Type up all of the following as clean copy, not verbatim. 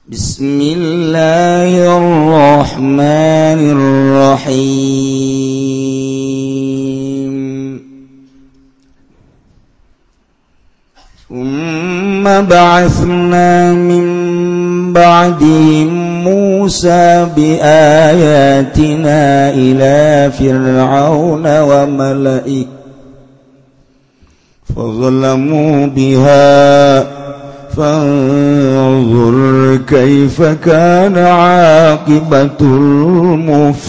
Bismillahirrahmanirrahim. Tsumma ba'atsna min ba'dihim Musa biayatina ila fir'auna wa mala'ihi fadzalamu biha fanzur kaifa kana 'aqibatul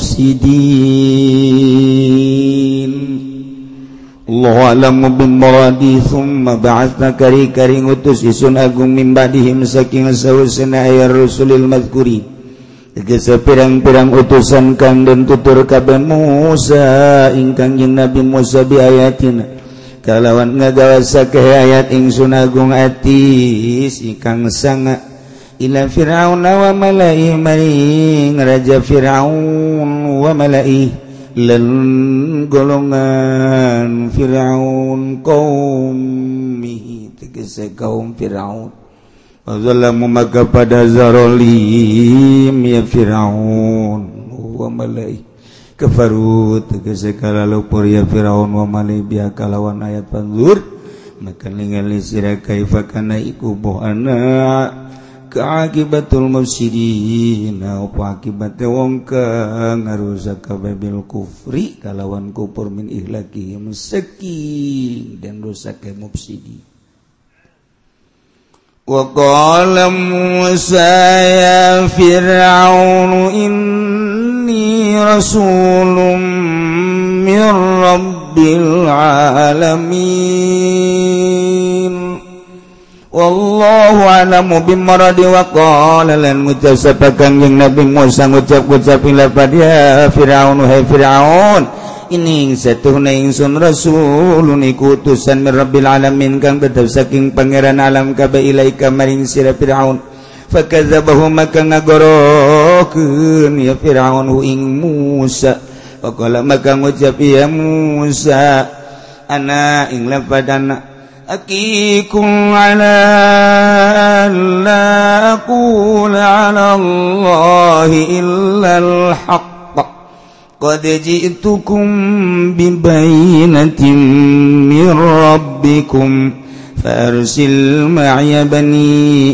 mufsidin. Allahu a'lamu bimuradi. Tsumma ba'atsna kari ngutus isun agung min ba'dihim saking sausana ayat rasulil mazkuri tegese pirang-pirang utusan kang den tutur kabeh Musa ingkang jeung Nabi Musa bi ayatina kalawan ngagawasakeun ayat ingsun agung atis ingkang sanga ila fir'aun wa mala'i maring raja fir'aun wa mala'i lan golongan fir'aun qaumihi tegese kaum fir'aun wazalamu maka pada zarolim ya fir'aun wa mala'i kafaru tegese kalalupur ya fir'aun wa mala'i biha kalawan ayat panzur maka ningali sira kaifa kana iku bohana kaakibatul mufsidin apa akibate wong kang ngarusak kabeh bil kufri kalawan kufur min ihlaki saking dan rusak mufsidin. Wa qala Musa ya fir'aun inni rasulun min rabbil alamin wallahu a'lamu bimaradi. Wa qala lan ngucap sapa kanjeng Nabi Musa ngucap-ngucap lafaz ya Firaun hai Firaun ini satuhna ingsun rasulun iku utusan min rabbil alamin kang tetep saking pangeran alam kabeh ilaika maring sira Firaun fakadzabahu maka ngagorokeun ya Firaun hu ing Musa. Wa qala maka ngucap ya Musa ana ing lafadana akikum ala alla aqula ala Allahi illal haqq qad ji'tukum bibayinatin min rabbikum farsil ma'iya bani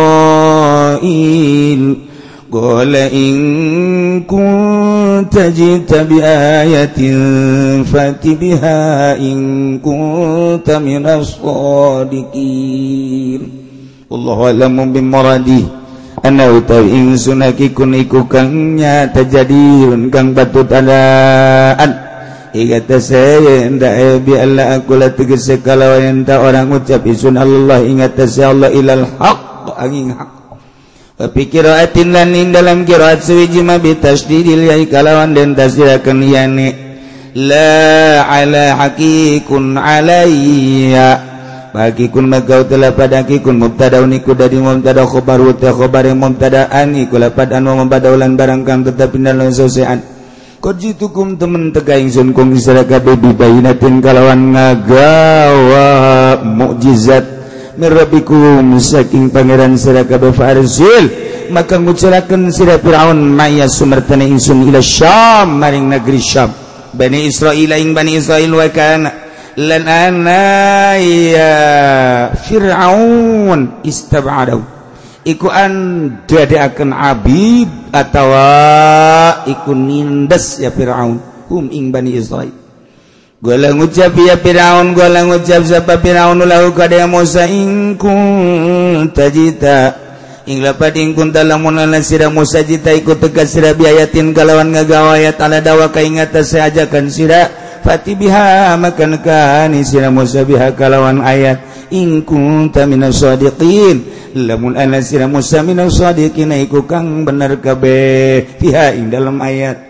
Israil qala in kunta jita bi ayatin fati biha in kunta minas shadiqin. Wallahu a'lamu bimuradi. Ana utawi ingsun hakikun iku kang nyata jadiun kang batut adaan igata saya ndak bi alla aku la tegese kalawan ta orang ucap isun Allah ingat sa Allah ilal haqq angin haq. Pikiraatin lan ing dalam qiraat suwiji ma bi tasdidil ya kalawan den tasdirakeun yani la ala haqiqun alayya bagikun magau telah padakikun mubtadaun iku dari mubtada khabaru ta khabare mubtadaan iku lapad anu mubadaulan barang kang tetep dalam sosean qajitukum temen teka ingsun kum isra kabeh bibayinatin kalawan ngagawa mukjizat mirabikum saking pangeran sira kabeh farsil maka ngucurakeun sira Firaun maya sumertane ingsun ila Syam maring negeri Syam Bani Israil ing Bani Israil wa kana lan ana ya Fir'aun istab'adahu iku an dadekaken abid atawa iku nindes ya Fir'aun hum ing Bani Israil. Gua ngucap ya Firaun, gua ngucap sapa Firaun lahu kada Musa in kunta jita ing lapad ing kunta lamun ana sira Musa jita ikut tegas sira biayatin kalawan ngagawa ayat ala dawa ka ing atas ajakan sira fati biha maka nekani sira Musa biha kalawan ayat in kunta minas shadiqin lamun ana sira Musa minas shadiqin iku kang bener kabeh biha ing dalam ayat.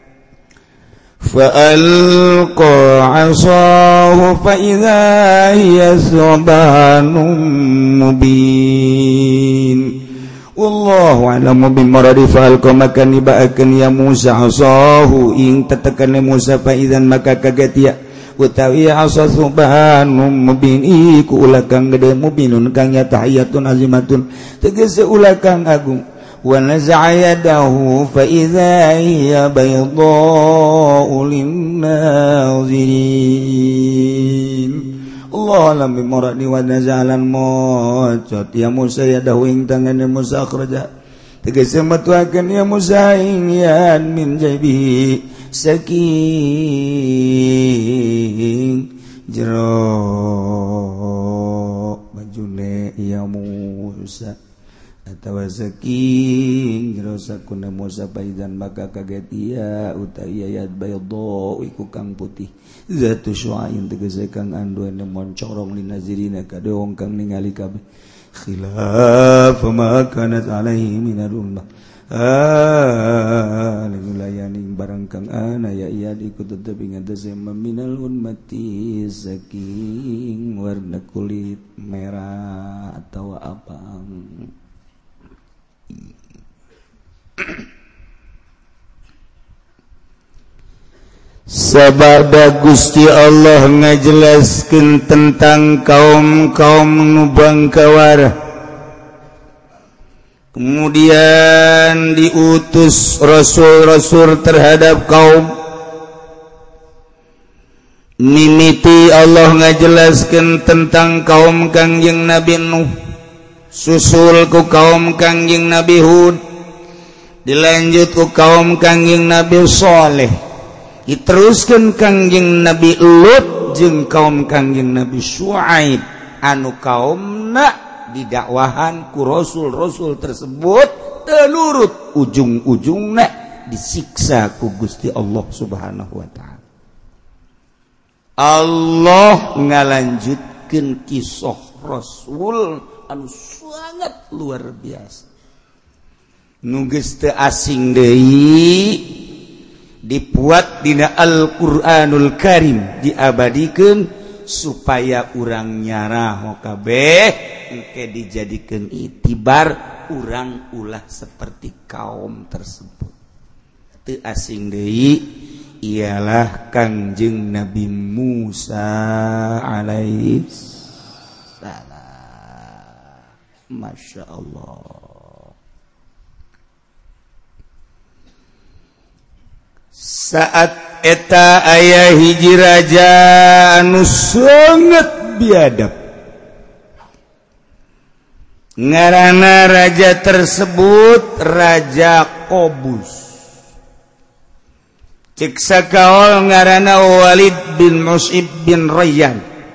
فألقى عصاه فإذا هي ثعبان مبين والله أعلم بمراد فألقى maka nibaakeun ya Musa asahu ing tetekan Musa fa idzan maka kaget ya utawi asa subhanum mubin iku ulah kang gede mubinun kang tahiyatun azimatun tegese ulah kang agung wa naza'a yadahu fa idza hiya baydha'u lin-nazirin Allah alam bimuradi wa nazalan mocot ya Musa yadahu ing tangane Musa akhraja tegese metuakeun ya Musa ing yan min jaibihi saking jero bajune ya Musa atawa saking jero sakuna Musa paidan maka kaget ia utai ayat bayadho iku kang putih zatu syu'ain tegese kang anduane moncorong linazirina kade wong kang ningali kabeh khilaf ma kanat alaihi minal ummah layaning barang kang ana ya iya ikut tetep ngatese minal ummati saking warna kulit merah atau abang sabada Gusti Allah ngajelaskeun tentang kaum-kaum nu bangkawara kemudian diutus rasul-rasul terhadap kaum mimiti Allah ngajelaskeun tentang kaum Kangjeng Nabi Nuh susul ku kaum Kangjeng Nabi Hud dilanjut ku kaum Kangjeng Nabi Saleh diteruskeun Kangjeng Nabi Lut jeung kaum Kangjeng Nabi Syuaib anu kaumna didakwahan ku rasul-rasul tersebut telurut ujung-ujungna disiksa ku Gusti Allah Subhanahu wa taala. Allah ngalanjutkeun kisah rasul anu sangat luar biasa nu geus teu asing deui dibuat dina Al-Qur'anul Karim diabadikeun supaya urang nyarah kabeh engke dijadikeun itibar urang ulah seperti kaum tersebut teu asing deui ialah Kangjeng Nabi Musa alaihi salam Masya Allah. Saat eta aya hiji raja anu sangat biadab ngaranna raja tersebut Raja Qobus cek sakaol ngaranna Walid bin Mus'ib bin Rayyan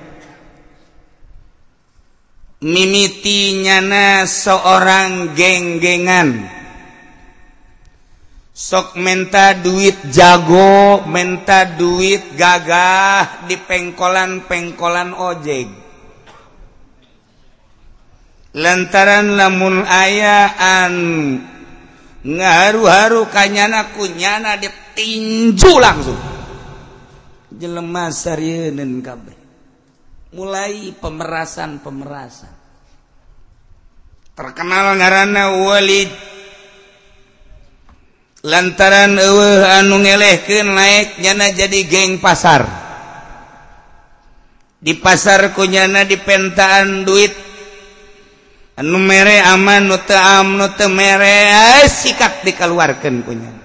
mimitinyana seorang geng-gengan sok menta duit jago, menta duit gagah di pengkolan-pengkolan ojek. Lantaran lamun ayaan ngaharu-haru kanyana kunyana ditinju langsung. Jelema sarieun kabeh. Mulai pemerasan. Terkenal ngaranna Walid lantaran eueuh anu ngelehkeun naik nyana jadi geng pasar di pasar kunyana dipentaan duit anu mere aman nu teu mere sikat dikeluarkeun kunyana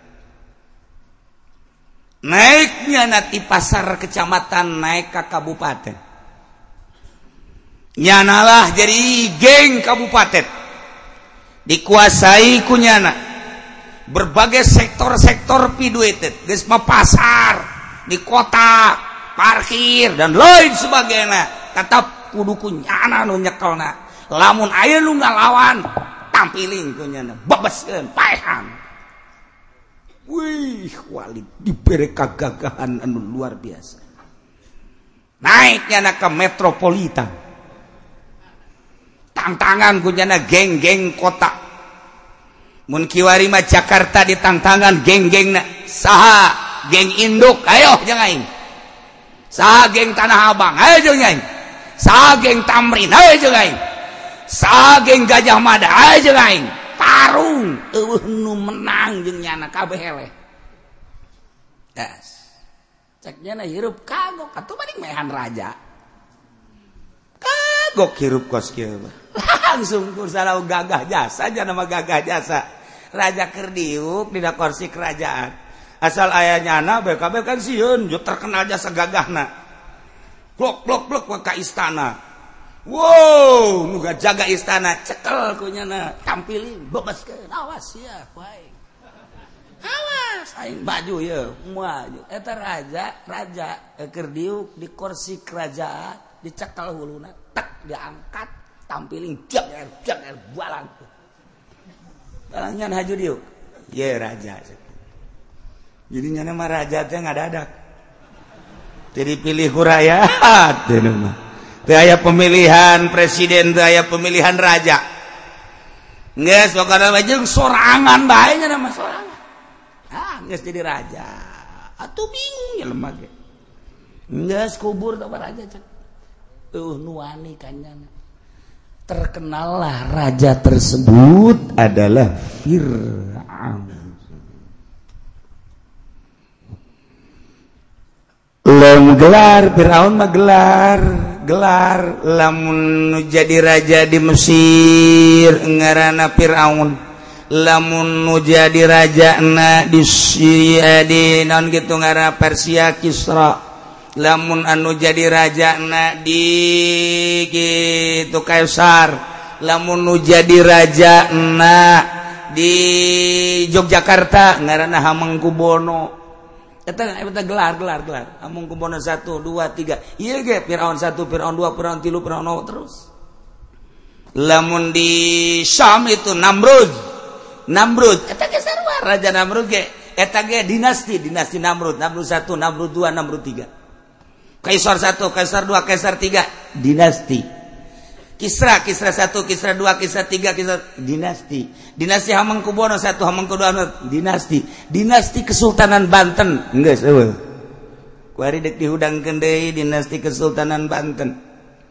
naik nyana ti pasar kecamatan naik ka kabupaten nyanalah jadi geng kabupaten dikuasai kunyana berbagai sektor-sektor piduitet geus mah pasar di kota parkir dan lain sebagainya tetap kudu kunyana nu nyekelna lamun aya nu ngalawan tampilin kunyana babaskeun paehan wih Walid dibere kagagahan anu luar biasa naiknya ke metropolitan tantangan kunyana geng-geng kota mun kiwari mah Jakarta ditangtangan geng-gengna saha geng induk ayo jeung aing saha geng Tanah Abang ayo jeung aing saha geng Tamrin ayo jeung aing saha geng Gajah Mada ayo jeung aing tarung eueuh nu menang jeung nyana kabeh eleh das ceknya na hirup kagok atuh mending mehan raja kagok hirup kos kieu langsung kursala gagah jasa aja nama gagah jasa raja keur diuk dina kursi kerajaan asal aya nyana BKB kan sieun terkenal jasa gagahna blok ka istana wow nu jaga istana cekel ku nyana tampilin bebaskeun awas ya bae awas aing baju ya maju eta raja keur diuk di kursi kerajaan dicekel huluna tek diangkat tampilin jak balang balangnya haju diuk ye raja jadi nyana mah raja teh ngadadak jadi pilih ku rakyat teh mah teu aya pemilihan presiden teu aya pemilihan raja geus pokona mah jeung sorangan bae nya mah sorangan geus jadi raja atuh bingung ya lemah ge geus kubur teh raja cek nuani kanyana terkenallah raja tersebut adalah Fir'aun. Gelar Fir'aun mah gelar lamun jadi raja di Mesir ngaranna Fir'aun, lamun nu jadi raja na di Syria di naon kitu ngaranna Persia Kisra, lamun anu jadi raja na di gitu Kaisar, lamun nu jadi raja na di Yogyakarta ngaranna Hamengkubuwono. Eta gelar Hamengkubuwono 1 2 3 ieu ge Firaun 1 Firaun 2 Firaun 3 Firaun 0 terus. Lamun di Syam itu Namrud eta ge sarua raja Namrud ge eta ge dinasti Namrud 1 Namrud 2 Namrud 3 Kaisar 1, Kaisar 2, Kaisar 3 dinasti. Kisra 1, Kisra 2, Kisra 3, Kisra dinasti Hamengkubuwono 1, Hamengkubuwono dinasti. Dinasti Kesultanan Banten geus eueuh. Ku ari deuk dihudangkeun deui dinasti Kesultanan Banten.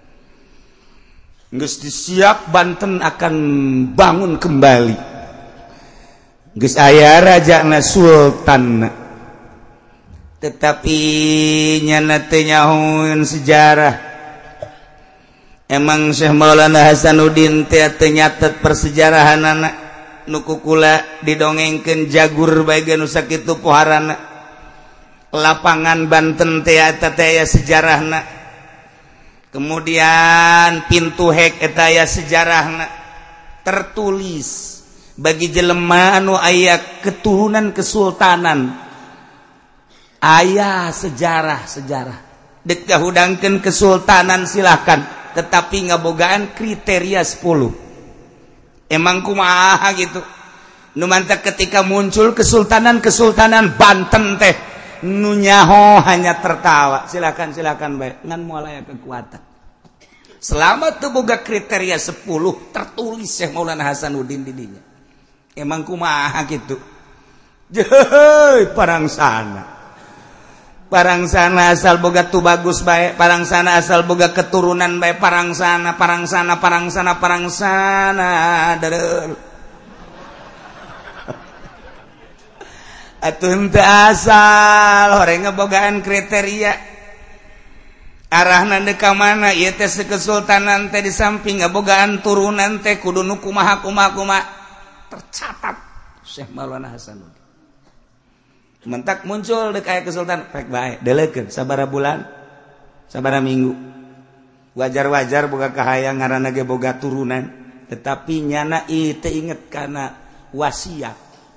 Geus disiap Banten akan bangun kembali. Geus aya rajana sultanna. Tetapi nyana teu nyahoeun sejarah. Emang Syekh Maulana Hasanuddin teh teu nyatet persejarahanana nu kukula didongengkeun jagur bae nu sakitu poharana. Lapangan Banten teh eta teh aya sejarahna. Kemudian pintu hek eta aya sejarahna. Tertulis bagi jelema anu aya keturunan kesultanan. Aya sejarah dek kahudangkeun kesultanan silahkan tetapi ngabogaan kriteria 10 emang kumaha gitu nu mantap ketika muncul kesultanan Banten teh nu nyaho hanya tertawa silahkan bae ngan moal aya kekuatan selama teu boga kriteria 10 tertulis Syekh Maulana Hasanuddin di dinya emang kumaha gitu jeuh parang sana asal boga tu bagus bae, parang sana asal boga keturunan bae, parang sana dareul. Atuh henteu asal horeng ngebogaan kriteria. Arahna deuk ka mana ieu teh kesultanan teh di samping ngabogaan turunan teh kudu nu kumaha tercatat Syekh Maulana Hasanuddin. Mentak muncul dek aya kesultanan pek bae delekeun sabaraha bulan sabaraha minggu wajar boga kahayang ngaranna ge boga turunan tetapi nyana ieu teu inget kana wasiat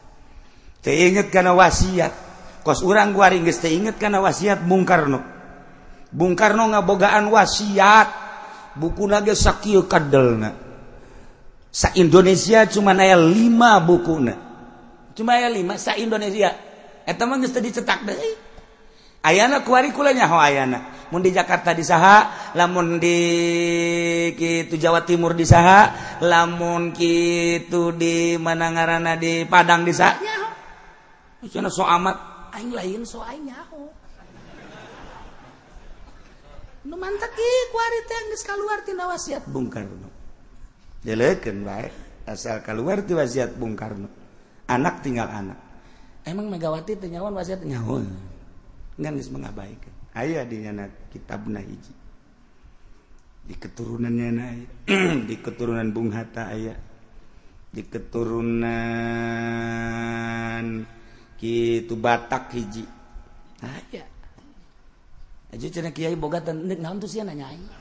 kos urang guari geus teu inget kana wasiat Bung Karno ngabogaan wasiat bukuna ge sakieu kadelna sa Indonesia cuma aya 5 bukuna sa Indonesia eta mah geus teu dicetak deui. Ayana kuari kula nyaho ayana. Mun di Jakarta di saha, lamun di kitu Jawa Timur di saha, lamun kitu di mana ngaranna di Padang di saha nyaho. Cenah so amat aing lain so aing nyaho. Nu mantep ieu kuari teh geus kaluar tina wasiat Bung Karno. Delekeun bae asal kaluar ti wasiat Bung Karno. Anak tinggal anak. Emang Megawati teu nyahoan wasiat nyahoan. ngan geus mengabaikan. Aya di nyana kitabna hiji. Di keturunannya aya. Di keturunan Bung Hatta aya. Di keturunan kitu Batak hiji. Aya. Aja cenah kiai boga teh naon tuh sia nanya aing.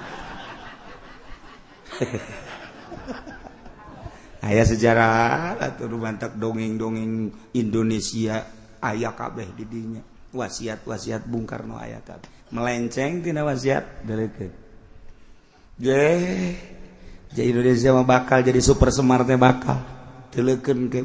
Aya sejarah atuh bantak dongeng-dongeng Indonesia aya kabeh di dinya. Wasiat-wasiat Bung Karno aya kabeh. Melenceng tina wasiat deurekeun. Jadi Indonesia mah bakal jadi super smart teh bakal. Deulekeun ke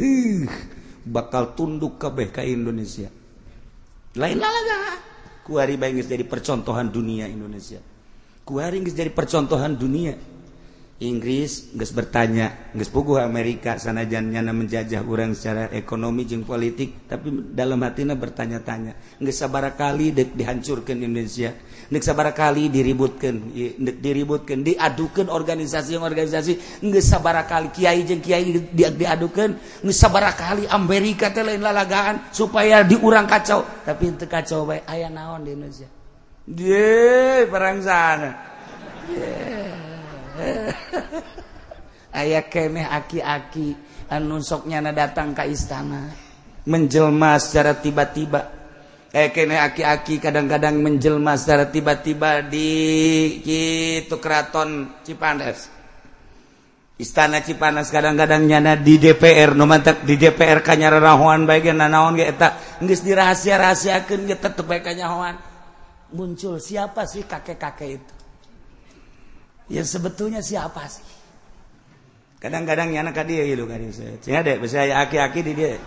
bakal tunduk kabeh ka Indonesia. Lain lalaga. Kuari bae geus jadi percontohan dunia Indonesia. Kuari geus jadi percontohan dunia. Inggris geus bertanya, geus puguh Amerika sanajan nyana menjajah urang secara ekonomi jeung politik, tapi dalam hatina bertanya-tanya, geus sabaraha kali deuk dihancurkeun Indonesia, deuk sabaraha kali diributkeun, diadukeun organisasi, geus sabaraha kali kiai jeung kiai diadukeun, geus sabaraha kali Amerika teh lain lalagaan supaya diurang kacau, tapi teu kacau bae aya naon di Indonesia. Perang sana. Aya keneh aki-aki anu sok nyana datang ka istana menjelma secara tiba-tiba. Keneh aki-aki kadang-kadang menjelma secara tiba-tiba di kitu keraton Cipanas. Istana Cipanas kadang-kadang nyana di DPR, nu mantep di DPR kanyararahoan bae ge nanaon ge eta geus dirahasia-rahasiakeun ge tetep bae kanyahoan. Muncul siapa sih kakek-kakek itu? Ya sebetulnya siapa sih? Kadang-kadang nyana ka dieu ieu ka dieu. Cenah dek bisi aya aki-aki di dieu.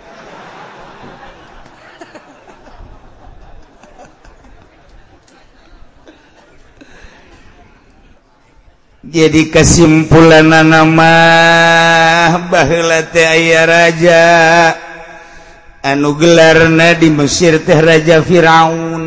Jadi kesimpulanna mah baheula teh aya raja anu gelarna di Mesir teh Raja Firaun.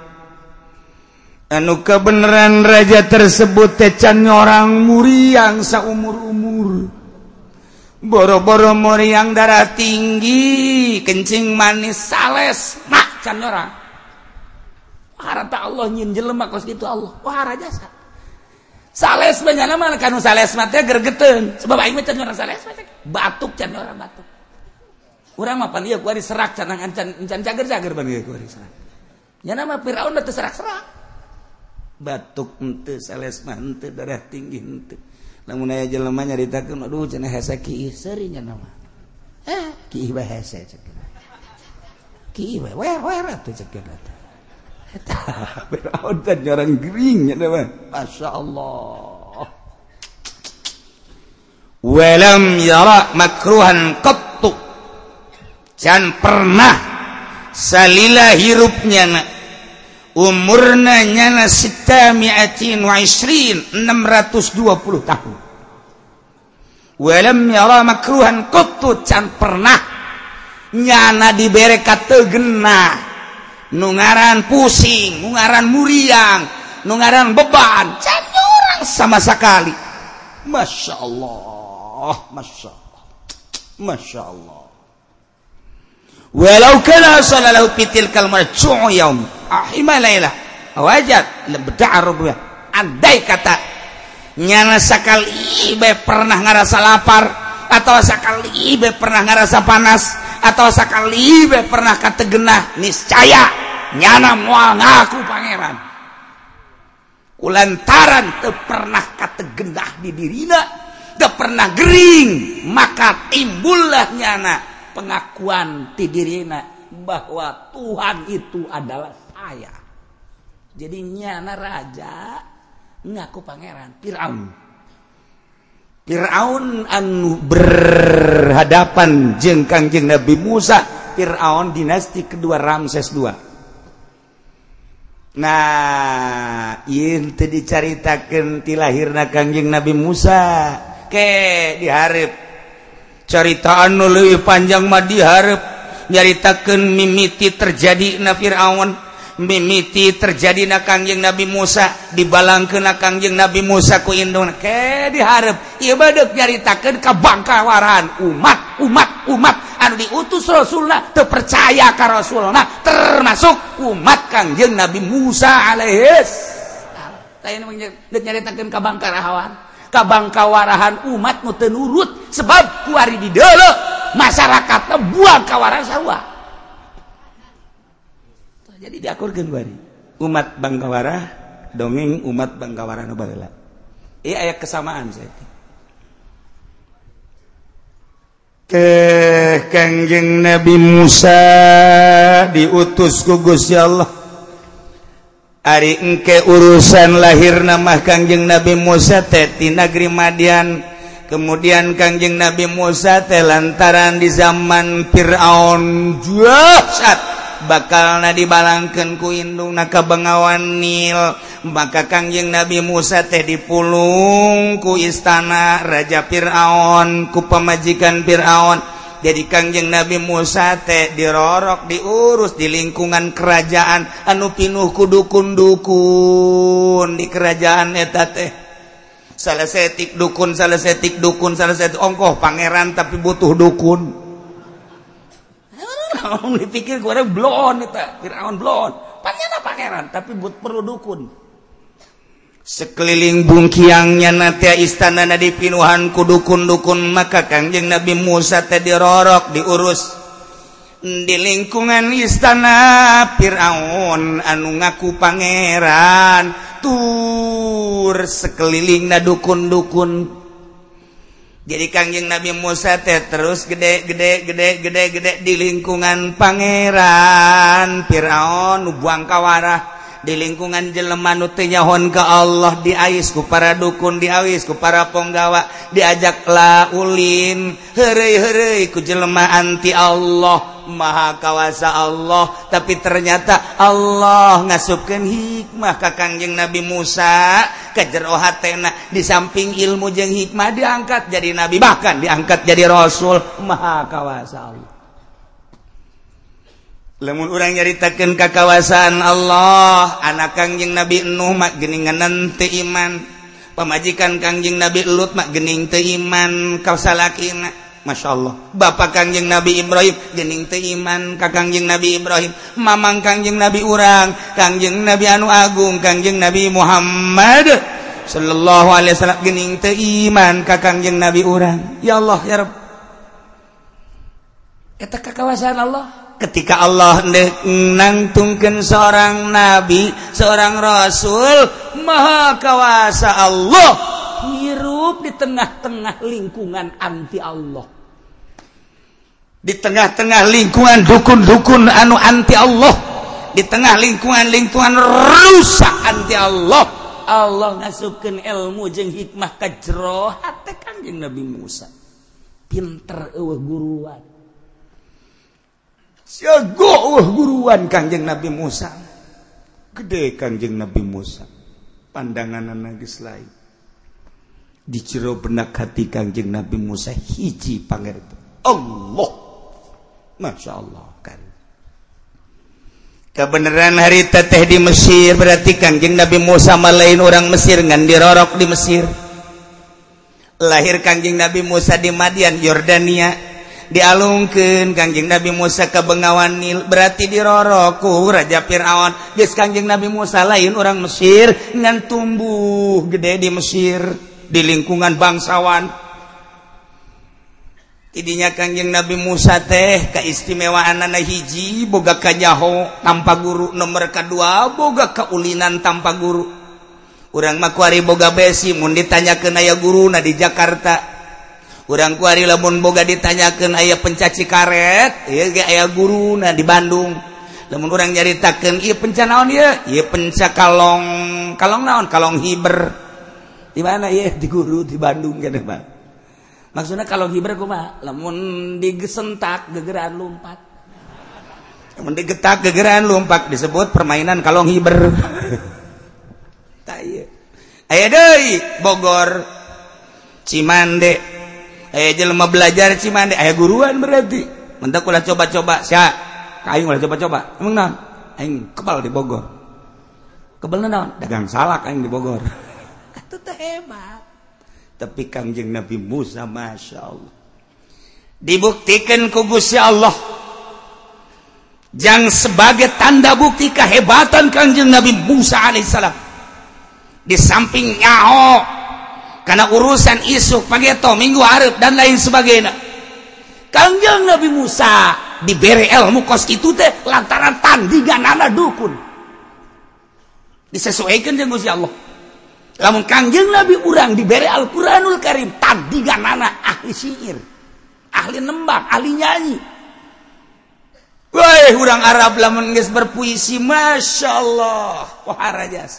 Anu kebenaran raja tersebut teh can nyorang muriang saumur-umur. Boro-boro muriang darah tinggi, kencing manis sales, mak can nyorang. Harata Allah nyin jelema kos kitu Allah. Wah raja sa. Sales banyak mah kanu sales mah teh gergeteun. Sebab aing mah can nyorang sales mah batuk can nyorang batuk. Urang mah pan ieu kuari serak can cager-cager ban ieu kuari serak. Nya mah Firaun teh serak-serak. Batuk henteu sales mah henteu darah tinggi henteu. Lamun aya jelema nyaritakeun aduh cenah hese kieu seuri nya mah. Kieu bae hese ceuk. Kieu bae wer atuh ceuk eta. Eta Firaun teh nyorang gering nya mah. Masyaallah. Walam yara makruhan qattu. Can pernah salila hirupnya umurna nyana 620 tahun. Walam yara makruhan qattu can pernah nyana dibere kateugna nu ngaran pusing, nu ngaran muriang, nu ngaran beban, can urang sama sakali. Masyaallah, masyaallah. Masyaallah. Walau kana sallallahu fitil kalmar ju'u yaum ahima lailah wajad lebda'arub andai kata nyana sakali be pernah ngarasa lapar atau sakali be pernah ngarasa panas atau sakali be pernah kategenah niscaya nyana moal ngaku pangeran kulantaran teu pernah kategenah di dirina teu pernah gering maka timbullah nyana pengakuan ti dirina bahwa Tuhan itu adalah saya. Jadi nyana raja ngaku pangeran Firaun. Firaun anu berhadapan jeung Kangjeng Nabi Musa, Firaun dinasti kedua Ramses II. Nah, ieu teu dicaritakeun ti lahirna Kangjeng Nabi Musa ke dihareup carita anu leuwih panjang mah dihareup nyaritakeun mimiti terjadi na Firaun, mimiti terjadi na Kangjeng Nabi Musa, dibalangkeun na Kangjeng Nabi Musa ku induna ke dihareup ieu bae deuk nyaritakeun kabangkawaran umat anu diutus Rasulna teu percaya ka Rasulna termasuk umat Kangjeng Nabi Musa alaihis lain nyaritakeun ka bangkawarahan umat nu teu nurut sebab ku ari di deuleu masyarakatna buang kawarahan sarua jadi diakurkeun bari umat bangkawarah dongeng umat bangkawarah nu baheula ieu aya kesamaan saya ke Kangjeng Nabi Musa diutus ku Gusti Allah ari engke urusan lahir nama Kangjeng Nabi Musa teh ti negeri Madian kemudian Kangjeng Nabi Musa teh lantaran di zaman Firaun jahat bakalna dibalangkeun ku indungna ka Bengawan Nil maka Kangjeng Nabi Musa teh dipulung ku istana Raja Firaun ku pamajikan Firaun jadi Kangjeng Nabi Musa teh dirorok diurus di lingkungan kerajaan anu pinuh ku dukun-dukun di kerajaan eta teh salah setik dukun ongkoh pangeran tapi butuh dukun dipikir gue ada blon eta Firaun blon pangeran tapi perlu dukun sekeliling bungkiangnya nanti istana dipinuhan ku dukun-dukun maka Kangjeng Nabi Musa teh dirorok diurus di lingkungan istana Firaun anu ngaku pangeran tur sekelilingna dukun-dukun jadi Kangjeng Nabi Musa teh terus gede di lingkungan pangeran Firaun nu buang kawarah di lingkungan jelema nu teu nyahoan ka Allah diais ku para dukun diais ku para ponggawa diajak laulin heureuy ku jelema anti Allah maha kawasa Allah tapi ternyata Allah ngasupkeun hikmah ka Kangjeng Nabi Musa ka jero hatena di samping ilmu jeung hikmah diangkat jadi nabi bahkan diangkat jadi rasul maha kawasa Allah lamun urang nyaritakeun kakawasan Allah anak Kangjeng Nabi Nuh mak geuninganan teu iman pamajikan Kangjeng Nabi Lut mak geuning teu iman ka salakina masyaallah bapak Kangjeng Nabi Ibrahim geuning teu iman ka Kangjeng Nabi Ibrahim mamang Kangjeng Nabi urang Kangjeng Nabi anu agung Kangjeng Nabi Muhammad sallallahu alaihi wasallam geuning teu iman ka Kangjeng Nabi urang ya Allah ya Rabb eta kakawasan Allah ketika Allah nangtungkeun seorang nabi, seorang rasul, maha kawasa Allah hirup di tengah-tengah lingkungan anti Allah. Di tengah-tengah lingkungan dukun-dukun anu anti Allah, di tengah lingkungan rusak anti Allah. Allah ngasupkeun ilmu jeung hikmah ka jero hate Kangjeng Nabi Musa. Pinter eueuh guruan. Siago guruan Kangjeng Nabi Musa gede Kangjeng Nabi Musa pandanganna geus lain di jero benak hati Kangjeng Nabi Musa hiji pangerto Allah Masya Allah kan kebenaran hari teteh di Mesir berarti Kangjeng Nabi Musa malain orang Mesir ngan dirorok di Mesir lahir Kangjeng Nabi Musa di Madian Yordania dialungkeun Kangjeng Nabi Musa ke Bengawan Nil berarti diroroku Raja Firaun geus Kangjeng Nabi Musa lain orang Mesir ngan tumbuh gede di Mesir di lingkungan bangsawan tidinya Kangjeng Nabi Musa teh kaistimewaanna hiji boga kanyaho tanpa guru nomor kedua boga kaulinan tanpa guru urang mah kuari boga besi mun ditanyakeun aya guruna di Jakarta urang kuari lamun boga ditanyakeun aya pencaci karet ieu ge aya guruna di Bandung lamun urang nyaritakeun ieu penca naon ieu penca kalong naon kalong hiber di mana ieu di guru di Bandung keneh Pak maksudna kalong hiber kumaha lamun digesentak gegeran lompat lamun digetak gegeran lompat disebut permainan kalong hiber tah ieu aya deui Bogor Cimande jelema belajar Cimande aya guruan berarti mentek ulah coba-coba sia aing ulah coba-coba emang naon aing kebal di Bogor kebal naon dagang salak aing di Bogor atuh teh hebat tapi Kangjeng Nabi Musa Masya Allah dibuktikan ku Gusti Allah yang sebagai tanda bukti kehebatan Kangjeng Nabi Musa alaihissalam di samping nyaho karena urusan isuk pageto minggu hareup dan lain sebagainya. Kangjeng Nabi Musa diberi ilmu kos kitu teh lantaran tandinganana dukun disesuaikan jeung Gusti Allah. Lamun Kangjeng Nabi urang diberi Al-Qur'anul Karim tandinganana ahli syair, ahli nembang, ahli nyanyi. Wah, urang Arab lamun geus berpuisi, Masya Allah, wahara jasa.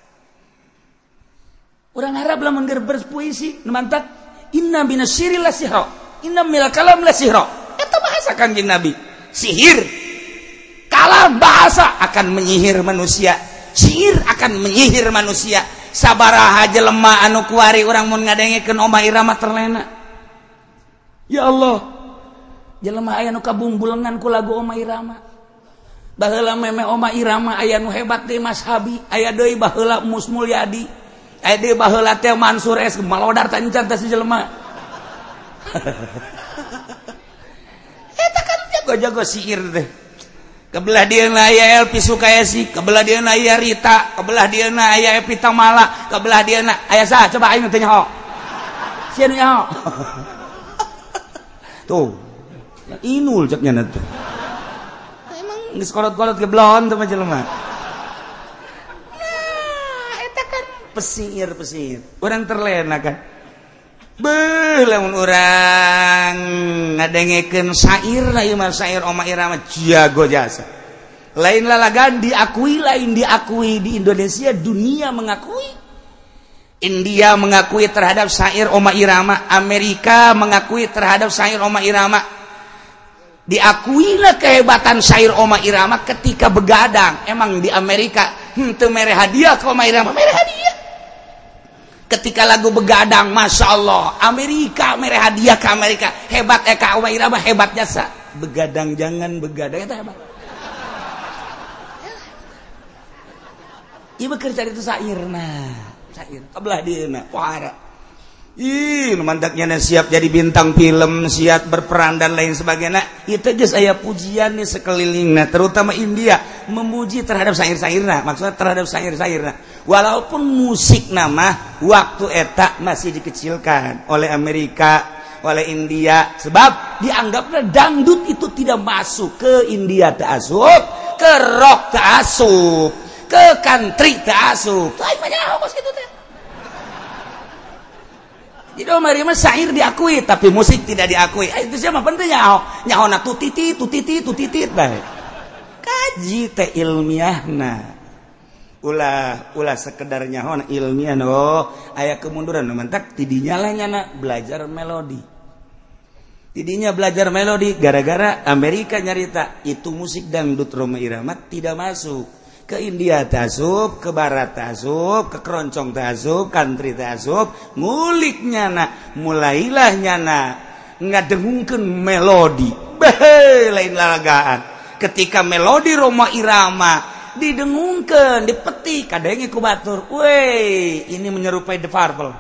Urang Arab lamun geus berpuisi, mantap. Inna minasyiri la sihra, inna minal kalam la sihra. Eta bahasa Kangjeng Nabi. Sihir, kalam bahasa akan menyihir manusia. Sihir akan menyihir manusia. Sabaraha jelema anu kuari urang mun ngadengekeun Oma Irama terlena. Ya Allah, jelema aya nu kabumbulengan ku lagu Oma Irama. Baheula meme Oma Irama aya nu hebat deui Mas Habi, aya deui baheula Mus Mulyadi, aya deui baheula teh Mansur S malodar tancan teh si jelema. Eta kan jago-jago sihir teh. Kebelah dieuna aya Elpi Sukayasi, kebelah dieuna aya Rita, kebelah dieuna aya Evita Mala, kebelah dieuna aya saha coba aing teh nyaho. Sieun nyaho. Tuh. Inul cek nya teh. Emang geus kolot-kolot ke blon teh mah jelema. Nah, eta kan pesihir. Urang terlena kan. Beuh lamun urang ngadengekeun syair na ieu mah syair Oma Irama jago jasa. Lain lalagan diakui di Indonesia, dunia mengakui. India mengakui terhadap syair Oma Irama, Amerika mengakui terhadap syair Oma Irama. Diakuilah kehebatan syair Oma Irama ketika begadang. Emang di Amerika henteu mere hadiah ke Oma Irama, mere hadiah. Ketika lagu begadang, Masya Allah, Amerika mere hadiah ke Amerika. Hebat Eka Oma Irama, hebat jasa. Begadang jangan begadang, itu hebat. Iya bekerja itu syair, nah syair, kebelah dia, nah wahara. Mandaknya siap jadi bintang film, siap berperan dan lain sebagainya. Itu aja saya pujian nih sekelilingnya, terutama India memuji terhadap syair-syairnya, maksudnya terhadap syair-syairnya. Walaupun musik nama waktu eta masih dikecilkan oleh Amerika, oleh India, sebab dianggapnya dangdut itu tidak masuk ke India ta'asub, ke rock ta'asub, ke country ta'asub. Lain banyak apa sih itu teh? Jadi Oma Irama syair diakui, tapi musik tidak diakui. Itu siapa pentingnya? Nyaho na tutiti baik. Kaji teh ilmiahna. Ulah sekedar nyaho na ilmiah no. Aya kemunduran mantak tidinya lah nyana belajar melodi. Tidinya belajar melodi gara-gara Amerika nyarita itu musik dangdut Oma Irama tidak masuk. Ke India tasub, ke Barat tasub, ke keroncong tasub, country tasub, ngulik nyana, mulailah nyana ngadengungkeun melodi. Beh, lain lalagaan. Ketika melodi Roma Irama didengungkeun, dipetik, kadenge ku batur. Weh, ini menyerupai The Purple.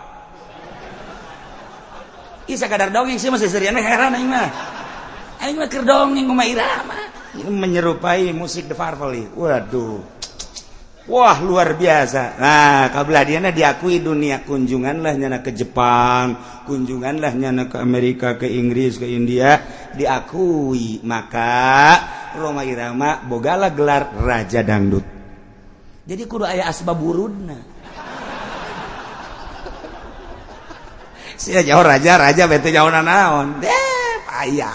Isa kadar dongeng sih masih seriana heran aing mah. Aing mah keur dongeng Roma Irama. Ini menyerupai musik The Purple. Waduh. Wah luar biasa. Nah kabelah diana diakui dunia. Kunjunganlah nyana ke Jepang, kunjunganlah nyana ke Amerika, ke Inggris, ke India, diakui. Maka Roma Irama bogalah gelar Raja Dangdut. Jadi kudu aya asbabburudna. Sia jauh raja bete jauh naon. Payah.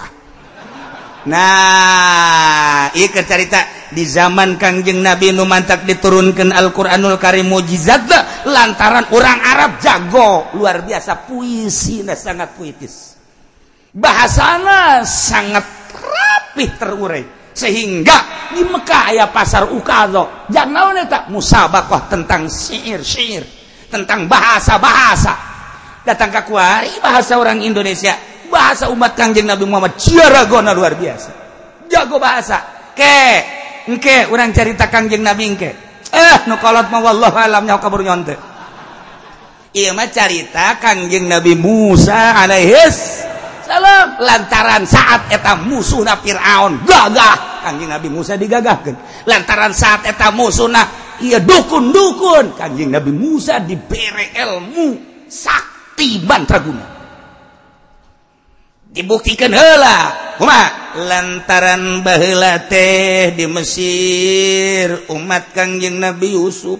Nah, ieu cerita di zaman Kangjeng Nabi nu mantak diturunkeun Al-Qur'anul Karim mukjizat lantaran orang Arab jago luar biasa, puisina sangat puitis. Bahasana sangat rapih terurai sehingga di Mekah aya pasar ukadho. Jang naon eta? Musabaqah tentang syair, tentang bahasa-bahasa. Datang ka kuari bahasa orang Indonesia. Bahasa umat Kangjeng Nabi Muhammad ciaragona luar biasa. Jago bahasa. Engke urang carita Kangjeng Nabi engke. Nu kolot mah wallahu alam nyaho kabur nyon teh. Ieu mah carita Kangjeng Nabi Musa alaihis salam lantaran saat eta musuhna Firaun gagah Kangjeng Nabi Musa digagahkeun lantaran saat eta musuhna ieu dukun-dukun Kangjeng Nabi Musa dibere ilmu sakti mantraguna dibuktikan heula kumaha lantaran baheula teh di Mesir umat Kangjeng Nabi Yusuf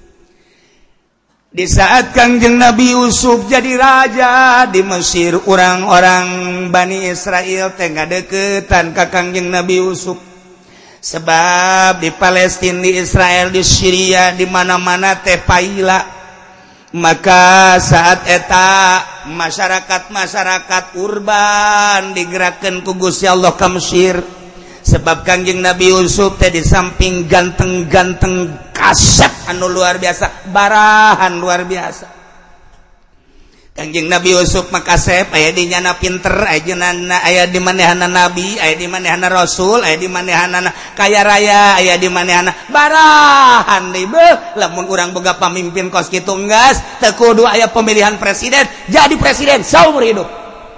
di saat Kangjeng Nabi Yusuf jadi raja di Mesir orang-orang Bani Israel teh ngadeukeutan ka Kangjeng Nabi Yusuf sebab di Palestina di Israel di Syria di mana-mana teh paila maka saat eta masyarakat urban digerakkan ku Gusti Allah ka Mesir sebab Kangjeng Nabi Yusuf teh di samping ganteng-ganteng kasep anu luar biasa barahan luar biasa Kangjeng Nabi Yusuf mah kasep aya di nyana pinter aya di manehana nabi aya di manehana rasul aya di manehana kaya raya aya di manehana barahan deui beuh lamun urang boga pamimpin kos kitu enggas teu kudu aya pemilihan presiden jadi presiden saumur hidup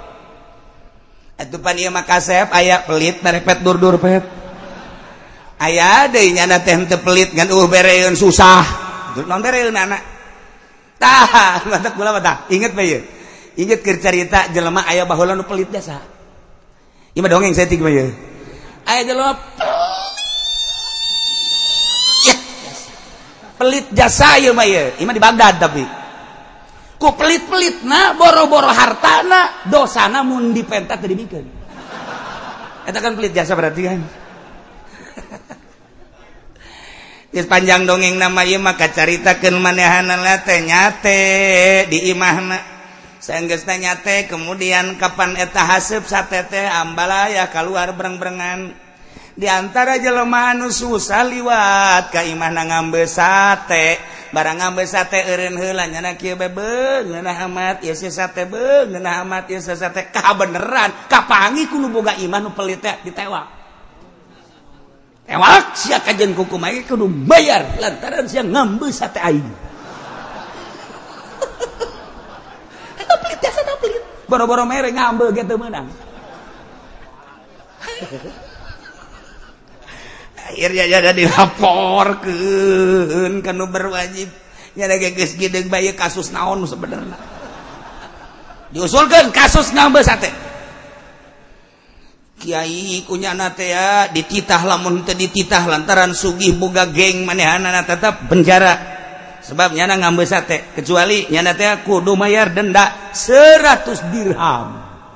atuh pan ieu mah kasep aya pelit merepet dur-dur pet aya deui nyana teh teu pelit ngan bereun susah naon bereun anak tah mantap kula mah tah inget bae inget keur carita jelema aya baheula nu pelit jasa ieu mah dongeng saeutik bae aya jelema pelit jasa ieu mah ieu mah di Bagdad tapi ku pelit-pelitna boro-boro hartana dosana mun dipentat teu dibikeun eta kan pelit jasa berarti kan sepanjang dongeng nama ieu mah kacaritakeun manehana teh nyate di imahna saenggeusna nyate kemudian kapan eta haseup sate teh ambalaya keluar bereng-berengan di antara jelema anu susah liwat ka imahna ngambe sate barang ngambe sate eureun heula nyana kieu bae beung ngeunah amat ieu sate beung ngeunah amat ieu sate kabeneran kapangi kudu boga imah nu pelit teh ditewak ewak sia kajen kuku make kudu bayar lantaran sia ngambe sate aing. Eta pelit biasa pelit. Boro-boro mere ngambe ge teu meunang. Akhirnya jadi dilaporkeun ka nu berwajib. Nya ge geus gideng bae kasus naon sebenarnya. Diusulkeun kasus ngambe sate. Kiai kunyana teh ya dititah lamun teu dititah lantaran sugih boga geng manehana tetep penjara sebab nyana ngambe sate kecuali nyana teh kudu mayar denda 100 dirham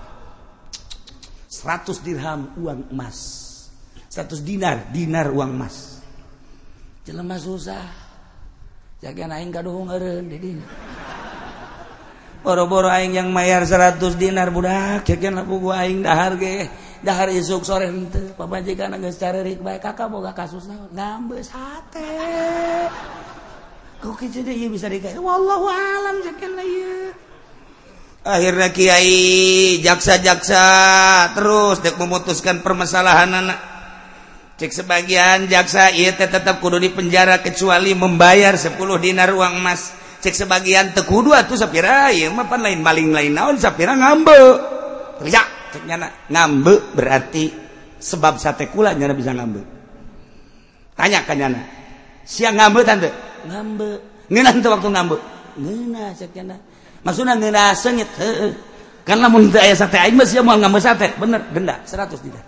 100 dirham uang emas 100 dinar uang emas jelema susah jaga aing kaduhung eureun di dieu boro-boro aing yang mayar 100 dinar budak jagan lapu gua aing dahar ge dahar isuk sore henteu pamajikan geus carerik bae kakak boga kasus naon ngambe sate kok kitu deui bisa dikae wallahu alam sakeuna ieu akhirna kiai jaksa-jaksa terus dek memutuskan permasalahanana cek sebagian jaksa ieu teh tetep kudu dipenjara kecuali membayar 10 dinar uang emas cek sebagian teu kudu atuh sapira ieu mah pan lain maling lain naon sapira ngambe kerja cek nyana ngambe berarti sebab sate kula nyana bisa ngambe tanya ka nyana sia ngambe tante ngambe ngeunah teu waktu ngambe ngeunah cek nyana maksudna ngeunah seungit heueuh kan lamun teu aya sate aing mah sia moal ngambe sate bener denda 100 dinar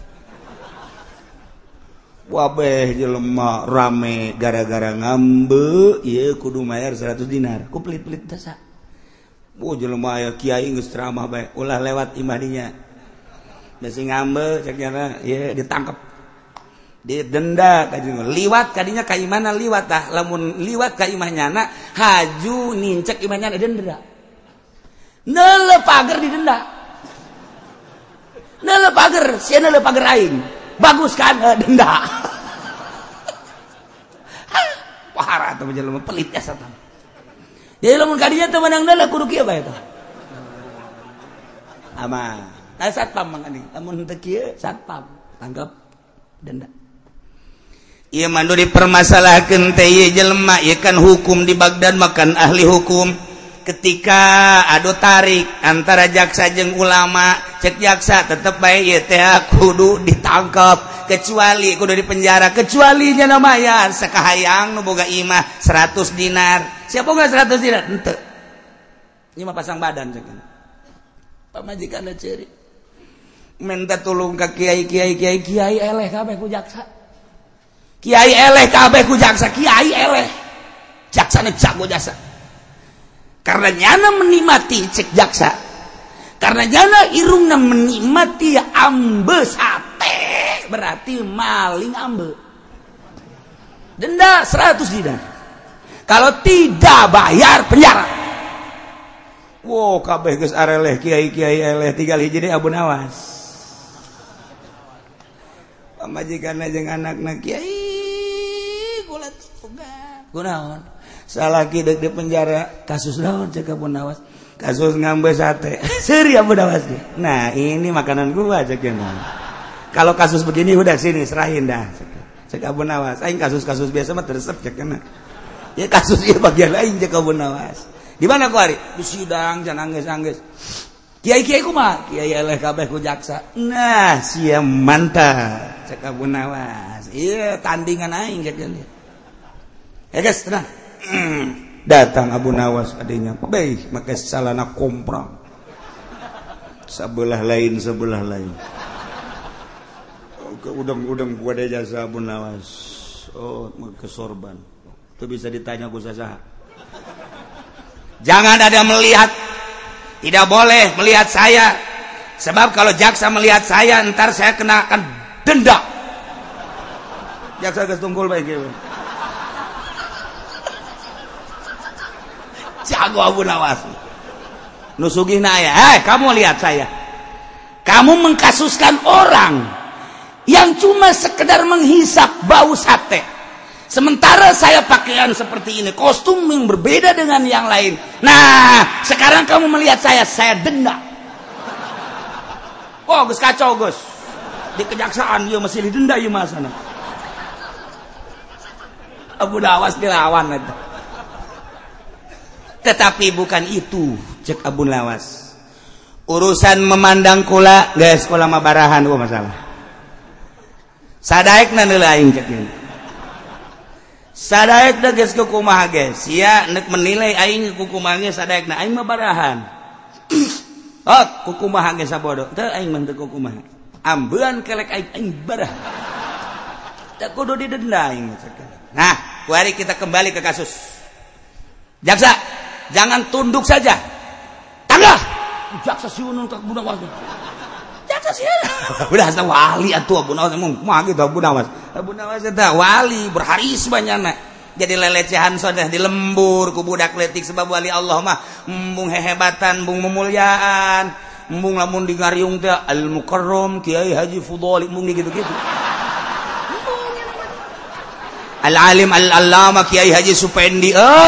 wabeh jelema rame gara-gara ngambe ieu kudu mayar 100 dinar ku pelit-pelit dasa jelema aya kiai geus ceramah bae ulah lewat imah dinya besi ngambe cek nyana ieu ditangkep didenda kajeng liwat kadinya ka imahna liwat tah lamun liwat ka imah nyana haju nincek imah nyana denda neuleuh pager didenda neuleuh pager sia neuleuh pager aing bagus kan denda parah teh jelema pelit asa tah jadi lamun kadinya teu meunang neuleuh kudu kieu bae tah aman satpam mangani lamun teu kieu satpam tangkap denda ieu mandu dipermasalahkeun teh ieu jelema ieu kan hukum di Bagdad makan ahli hukum ketika adu tarik antara jaksa jeung ulama, cek jaksa tetep bae ieu teh kudu ditangkap, kecuali kudu dipenjara, kecuali nya mayar sakahayang nu boga imah 100 dinar. Siapa boga 100 dinar? Henteu. Ieu mah pasang badan cek. Pamajikanna ceurik. Minta tulung ka kiai eleh kabeh ku jaksa. Kiai eleh kabeh ku jaksa, kiai eleh. Jaksana jago jasa. Karena nyana menikmati cek jaksa. Karena nyana irungna menikmati ambe sate, berarti maling ambe. Denda 100 dinar. Kalau tidak bayar penjara. Wow, kabeh geus areleh kiai eleh tinggal hiji deui Abu Nawas. Pamajikanna jeung anakna kiai kula tugas. Kunaon? Salaki deuk di penjara kasus naon cek Abu Nawas? Kasus ngambe sate. Seri Abu Nawas dia. Nah, ini makanan gua cek ya. Kalau kasus begini udah sini serahin dah. Cek Abu Nawas. Aing kasus-kasus biasa mah teresep cek kana. Ya kasus ieu bagian lain cek Abu Nawas. Di mana ku ari? Di sidang jangan angges-angges. Kiai-kiai kumaha? Kiai eleh kabeh ku jaksa. Nah, sia mantap cek Abu Nawas. Iya tandingan aing cek dia. Ya guys, tenang. Datang Abu Nawas adanya. Baik, make salana komprang. Sebelah lain. Udang gua ada jasa Abu Nawas. Oh, make sorban. Itu bisa ditanya ku sasaha. Jangan ada melihat. Tidak boleh melihat saya. Sebab kalau jaksa melihat saya, ntar saya kenakan denda. Jaksa geus tunggul bae kieu. Jago Abu Nawas. Nu sugihna aya, kamu lihat saya. Kamu mengkasuskan orang yang cuma sekedar menghisap bau sate. Sementara saya pakaian seperti ini, kostum yang berbeda dengan yang lain. Nah, sekarang kamu melihat saya denda. Oh, Gus kacau, Gus. Di kejaksaan ieu masih didenda ieu mah sana. Abu Nawas dilawan eta. Tetapi bukan itu, cek Abu Nawas. Urusan memandang kula, guys, kula mah barahan masalah. Sadaekna deui aing cek ieu. Sadaekna geus kumaha geus? Sia neuk menilai aing kumaha geus sadaekna aing mah barahan. Oh, kumaha geus sabodo. Teu aing mah teu kumaha. Ambeun kelek aing barah. Teu kudu didenda aing cek. Nah, mari kita kembali ke kasus. Jaksa, jangan tunduk saja. Tanggah. Jaksa siunun ka Abu Nawas. Jaksa siunun. Udah asa wali atuh Abu Nawas mah gitu Abu Nawas. Abu Nawas eta wali berharisma nyana. Jadi lelecehan sodah dilembur ku budak leutik sebab wali Allah mah embung hehebatan, embung memulyaan, embung lamun di ngariung teh Al Mukarram Kiai Haji Fudhali embung gitu-gitu. Al Alim Al Allama Kiai Haji Supendi.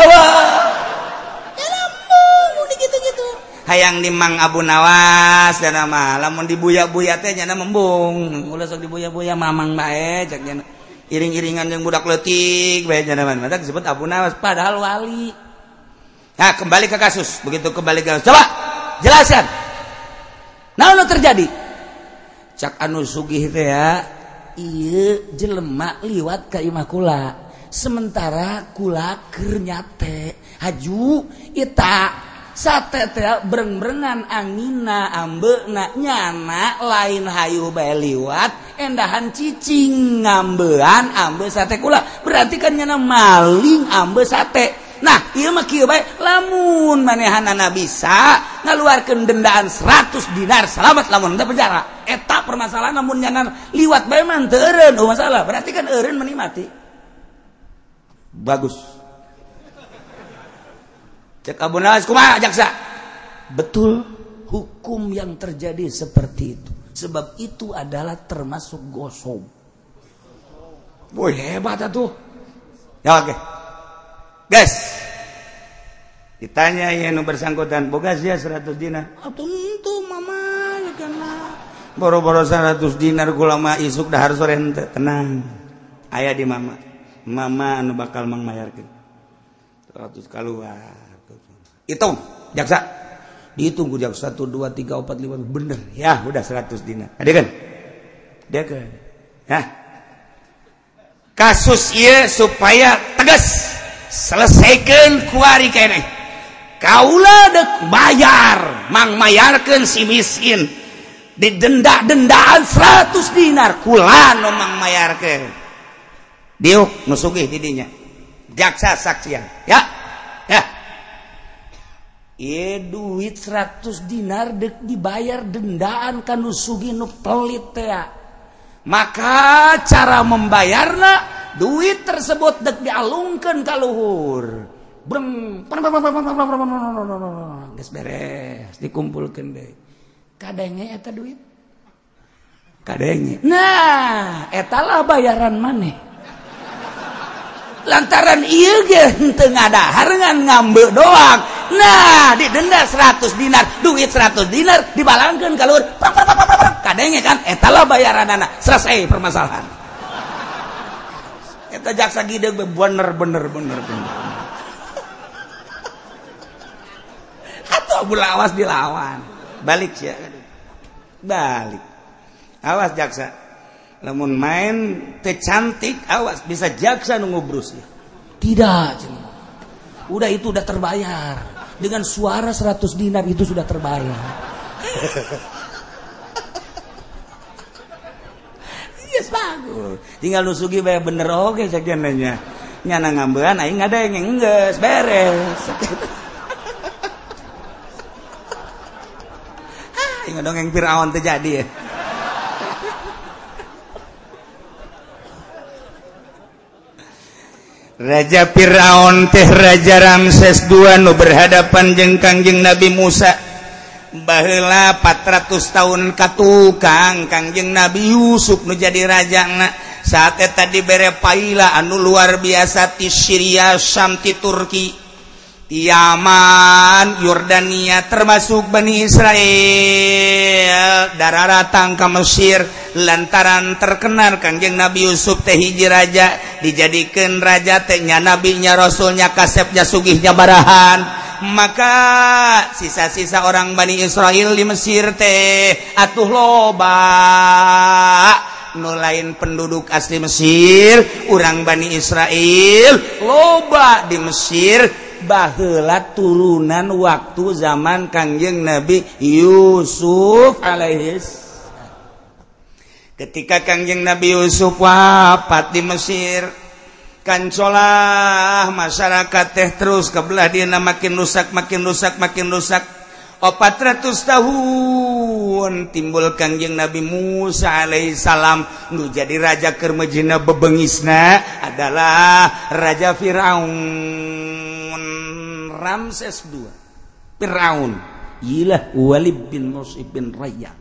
Hayang di Mang Abu Nawas dan nama lamun dibuya-buya teh nya membung ulah sok dibuya-buya mamang bae cek nya iring-iringan yang budak leutik bae nya mah mata disebut Abu Nawas padahal wali. Nah, kembali ke kasus. Begitu kembali ke kasus, coba jelaskan naon terjadi cak anu sugih teh ya ieu jelema liwat ka imah kula sementara kula keur nyate haju eta sate teh breng-brengan angina ambeuna nyana lain hayu bae liwat endahan cicing ngambean ambe sate kula berarti kan nyana maling ambe sate. Nah ieu mah kieu bae lamun manehanana bisa ngaluarkeun dendaan 100 dinar selamat lamun teu penjara eta permasalahan lamun nyana liwat bae mah teu eureun masalah berarti kan eureun menikmati bagus. Cek Abu Nawas kumaha jaksa? Betul hukum yang terjadi seperti itu. Sebab itu adalah termasuk gosong. Boy hebat atuh. Ya oke. Guys. Ditanya yang bersangkutan, boga sia 100 dinar. Tentu mama kana. Boro-boro 100 dinar kula mah isuk dahar sore henteu tenang. Aya di mama. Mama anu bakal mangmayarkeun. 100 kaluar. Hitung, jaksa. Dihitung ku jaksa 1 2 3 4 5 bener. Ya, udah 100 dinar. Adegan. Adegan. Hah? Kasus ieu supaya tegas selesaikeun ku ari keneh. Kaula dek bayar, mang mayarkeun si miskin. Didenda-dendaan 100 dinar kula nu mang mayarkeun. Diuk nu sugih di dinya. Jaksa saksian. Ya. Ya. Duit 100 dinar dek dibayar dendaan ka nu sugih nu pelit teh. Maka cara membayarna duit tersebut dek dialungkeun ka luhur. Breng. Geus beres dikumpulkeun deui. Kadenge eta duit. Kadenge. Nah, eta lah bayaran maneh. Lantaran ieu ge henteu ngadahar ngan ngambe doang. Nah, didenda 100 dinar, duit 100 dinar dibalangkeun ka luhur. Kadenge kan eta lah bayaranana. Selesai permasalahan. Eta jaksa gideug bener. Atuh bula awas dilawan. Balik sia. Balik. Awas jaksa. Lamun main teu cantik awas bisa jaksa nu ngubrus ya. Tidak, cenah. Udah itu udah terbayar. Dengan suara 100 dinar itu sudah terbayar. Yes, bagus. Tinggal nu sugih bae bener oge sakiananya. Nyana ngambean aing ngadeng geus beres. Aing dongeng Firaun teh jadi ya. Raja Firaun teh Raja Ramses II nu berhadapan jeung Kangjeng Nabi Musa. Baheula 400 tahun katukang Kangjeng Nabi Yusuf nu jadi rajana. Saat eta dibere paila anu luar biasa ti Syria, Syam, ti Turki, ti Yaman, Yordania, termasuk Bani Israel dararatang ka Mesir. Lantaran terkenal Kangjeng Nabi Yusuf teh hiji raja, dijadikeun raja teh nya nabinya rasulnya kasepnya sugihnya barahan. Maka sisa-sisa orang Bani Israel di Mesir teh atuh loba nu lain penduduk asli Mesir, urang Bani Israel loba di Mesir. Baheula turunan waktu zaman Kangjeng Nabi Yusuf alaihis. Ketika Kangjeng Nabi Yusuf wafat di Mesir, kancolah masyarakat teh terus kebelah dina makin rusak. 400 tahun timbul Kangjeng Nabi Musa alaihissalam nu jadi raja keur mejina bebengisna adalah Raja Firaun Ramses II. Firaun ilah Walid bin Mus'ib bin Raya.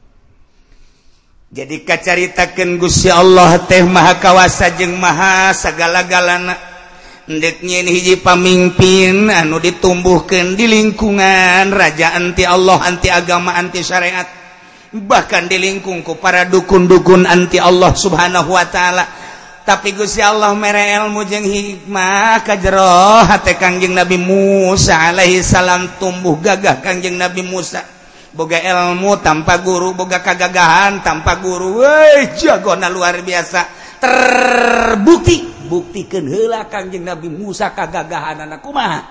Jadi kacaritakeun Gusti Allah teh maha kawasa jeung maha sagala-galana. Endek nyeun hiji pamimpin anu ditumbuhkeun di lingkungan raja anti Allah, anti agama, anti syariat. Bahkan dilingkung ku para dukun-dukun anti Allah Subhanahu wa taala. Tapi Gusti Allah mere ilmu jeung hikmah ka jero hate Kangjeng Nabi Musa alaihi salam. Tumbuh gagah Kangjeng Nabi Musa. Boga ilmu tanpa guru, boga kagagahan tanpa guru. Woi, jagona luar biasa. Terbukti, buktikeun heula Kangjeng Nabi Musa kagagahanana kumaha.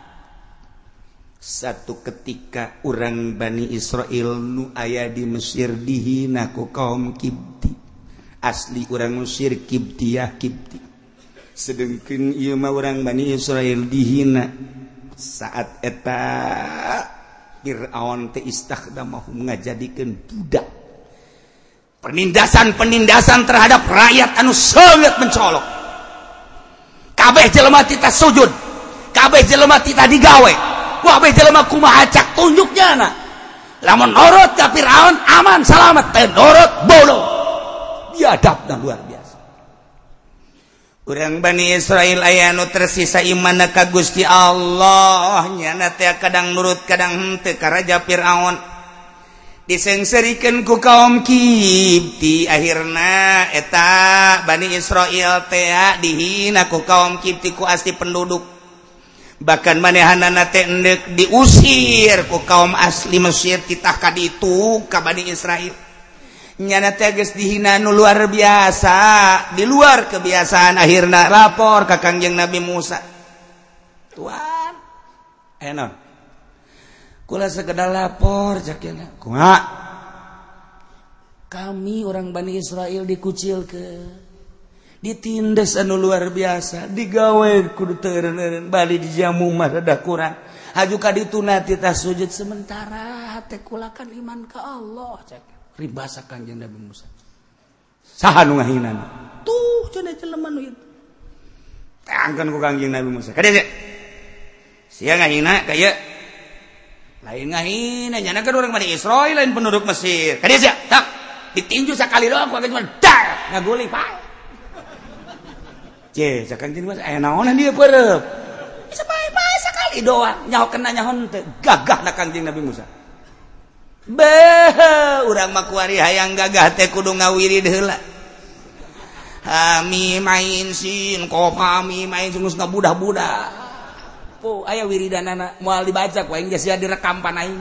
Satu ketika urang Bani Israel nu aya di Mesir dihina ku kaum Kipti. Asli urang Mesir Kiptiyah Kipti. Sedengkeun ieu mah urang Bani Israel dihina saat eta Fir'aun teh istakhdamahum ngajadikeun budak. Penindasan terhadap rakyat anu sangat mencolok. Kabeh jelema tita sujud, kabeh jelema tita digawe, kabeh jelema kumaha cak tunjuknya na. Lamun nurut ka Fir'aun aman salamet, teh nurut bodoh. Biadabna luar biasa. Urang Bani Israel aya nu tersisa imanna ka Gusti Allah, nyana teh kadang nurut kadang henteu ka Raja Firaun. Disengserikeun ku kaum Kipti, akhirna eta Bani Israel teh dihina ku kaum Kipti ku asli penduduk. bahkan manehanana teh endek diusir ku kaum asli Mesir titah ka ditu ka Bani Israil nyana teh geus dihina nu luar biasa di luar kebiasaan akhirna lapor ka Kangjeng Nabi Musa Tuhan enon kula sekedar lapor cakena kumaha kami orang Bani Israil dikucilkeun ditindas anu luar biasa digawe kudu teureun bali dijamu mah rada kurang haju ka ditu nati tah sujud sementara hate kulakan iman ka Allah cek ribasa Kanjeng Nabi Musa saha nu ngahinana tuh cenah jelema nu itu teangkeun ku Kanjeng Nabi Musa kada sia ngahina kaya lain ngahina nyana kan urang Bani Israil lain penduduk Mesir kada sia tak ditinju sakali doang ku cuma dar ngaguli pae cakang jadi mas, naonan dia perep. Sebaik-baik sekali doang, nyaho kena nyahon teh gagah na Kangjeng Nabi Musa. Beuh, urang mah kuari hayang gagah teh kudu ngawirid heula. Hami main sin, kopami main sungus ngabudah-budah. Po, aya wiridanana moal dibaca ku aing geus direkam pan aing.